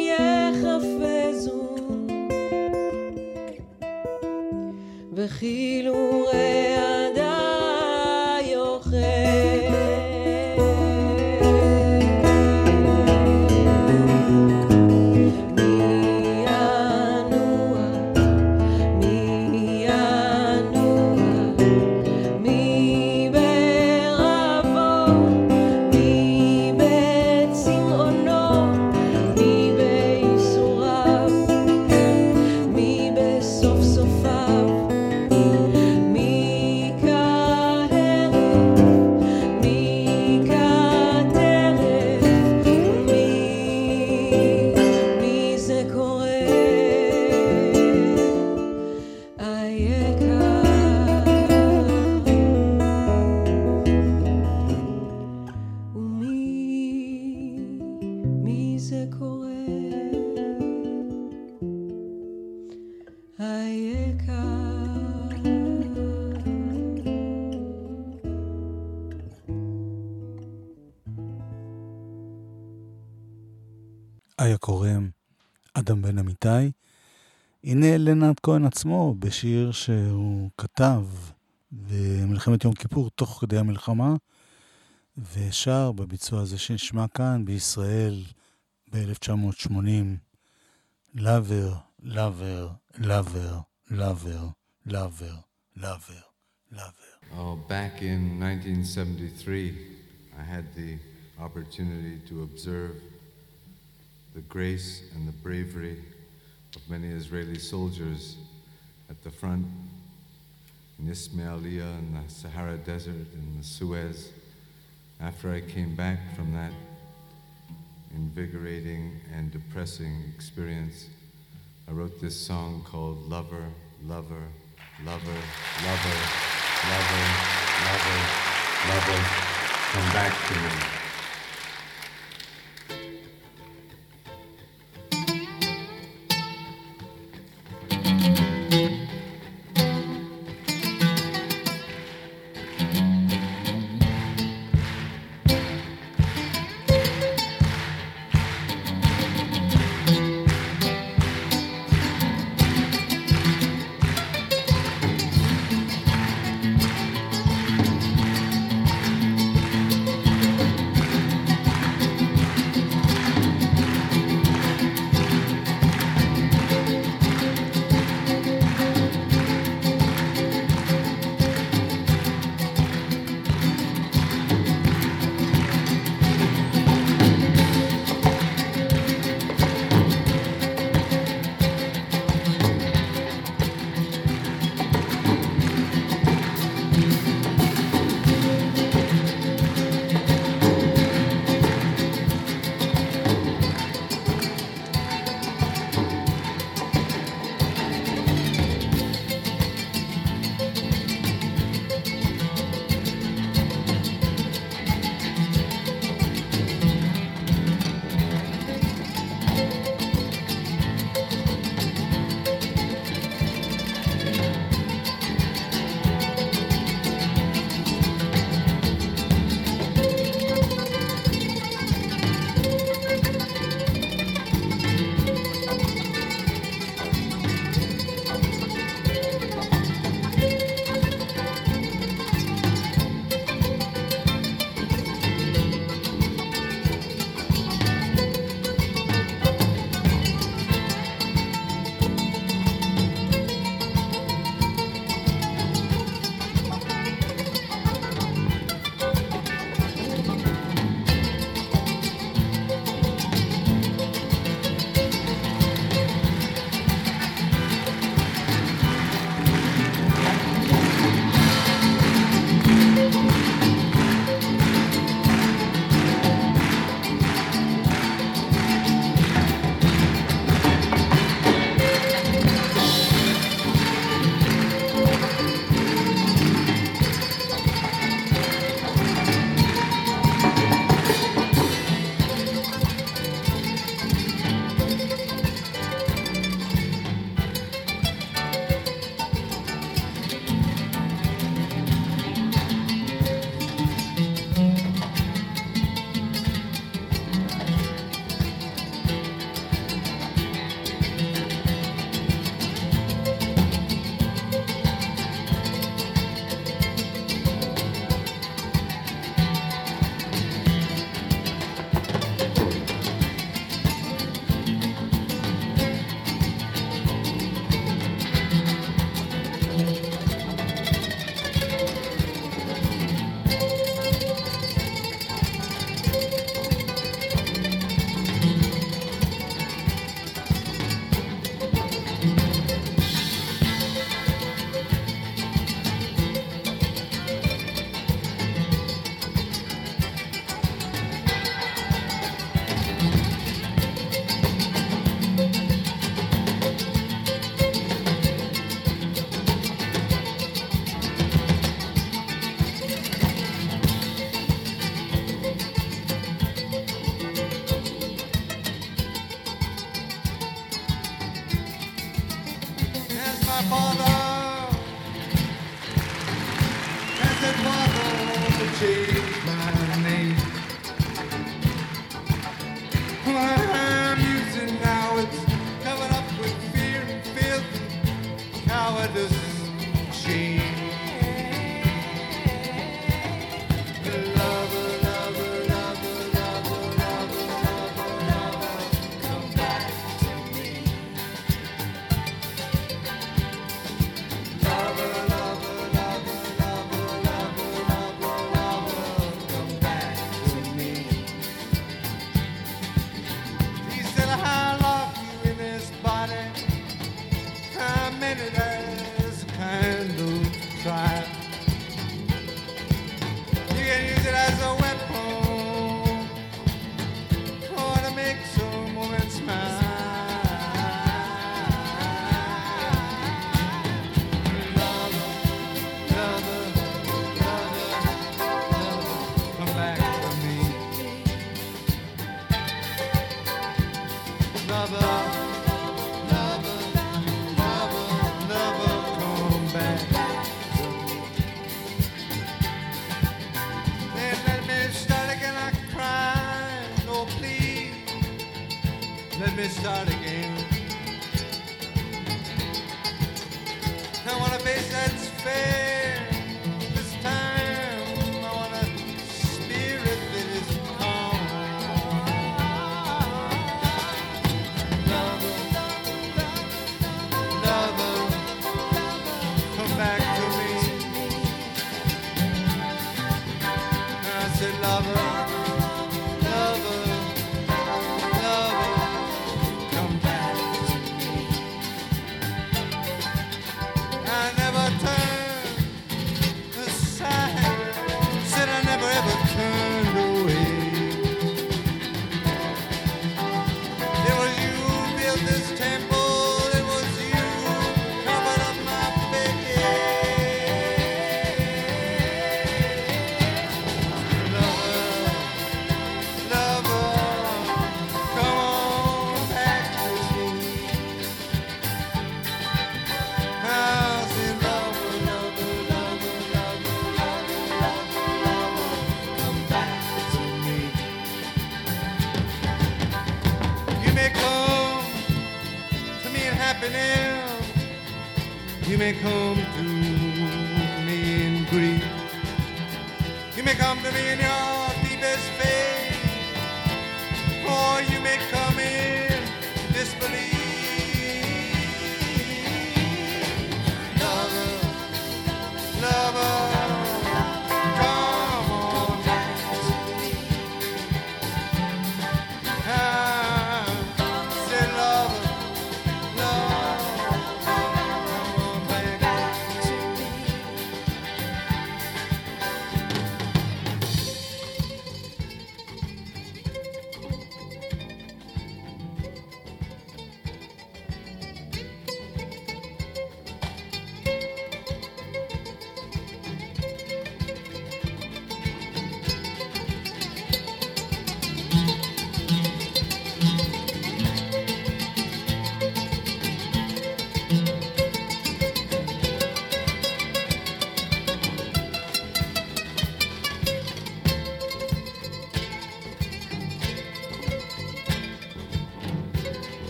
יחפזו, וחילורי חיה קורם, אדם בן אמיתי. הנה לנד כהן עצמו בשיר שהוא כתב במלחמת יום כיפור תוך כדי המלחמה, ושר בביצוע הזה שנשמע כאן בישראל ב-אלף תשע מאות שמונים, Lover, Lover, Lover, Lover, Lover, Lover, Lover. Oh, back in nineteen seventy-three, I had the opportunity to observe the grace and the bravery of many Israeli soldiers at the front in Ismailia, in the Sahara Desert, in the Suez. After I came back from that invigorating and depressing experience, I wrote this song called Lover, Lover, Lover, Lover, Lover, Lover, Lover, Come Back to Me. change my name. I'm used cowardice shame. Lover, lover, lover, lover, lover, lover, lover, come back to me. Lover, lover, lover, lover, lover, lover, lover, come back to me. He said, I love you in this body. How many days kind of try? You can use it as a weapon, or to make some woman smile. Lover, lover, lover, lover, come back to me. Lover, lover, lover, lover, come back to me. Then let me start again, I cried, oh please, let me start again. I want a face that's fair, this time I want a spirit that is calm. Lover, lover, come back to me. I said, lover, lover, lover, come back to me. I never turned aside, said I never ever turned away. It was you who built this temple, it was you who covered up my bed. Lover, lover, come on back to me. I said, lover, lover, lover, lover, lover, lover, lover, come back to me. You may come to me in happiness, you may come to me in grief, you may come to me in your deepest faith, or you may come in disbelief. Lover, lover, come on back to me. I said, lover, lover, come on back to me.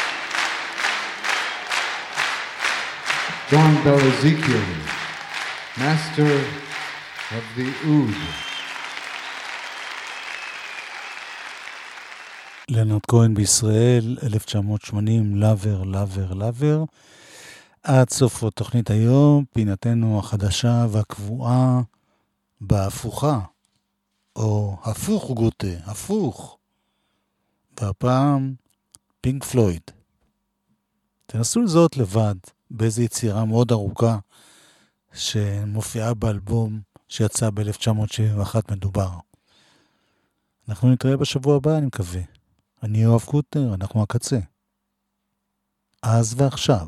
John Bell Ezekiel Master of the Oud. לנרד כהן בישראל, אלף תשע מאות שמונים, לבר, לבר, לבר. עד סוף התוכנית היום, פינתנו החדשה והקבועה בהפוכה, או הפוך גוטה, הפוך. והפעם, פינק פלויד. תנסו לזהות לבד באיזו יצירה מאוד ארוכה שמופיעה באלבום שיצא ב-אלף תשע מאות שבעים ואחת מדובר. אנחנו נתראה בשבוע הבא, אני מקווה. אני יואב קוטנר, אנחנו הקצה. אז ועכשיו.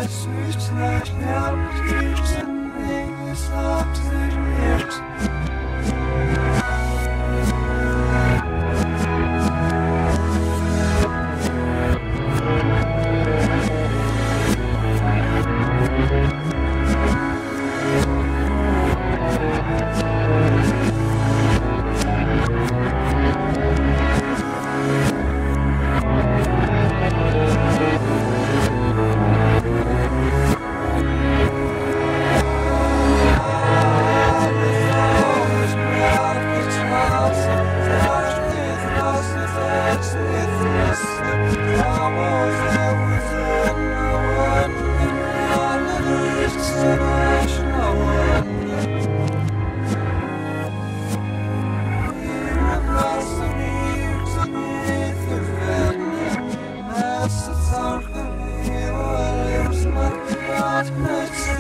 It's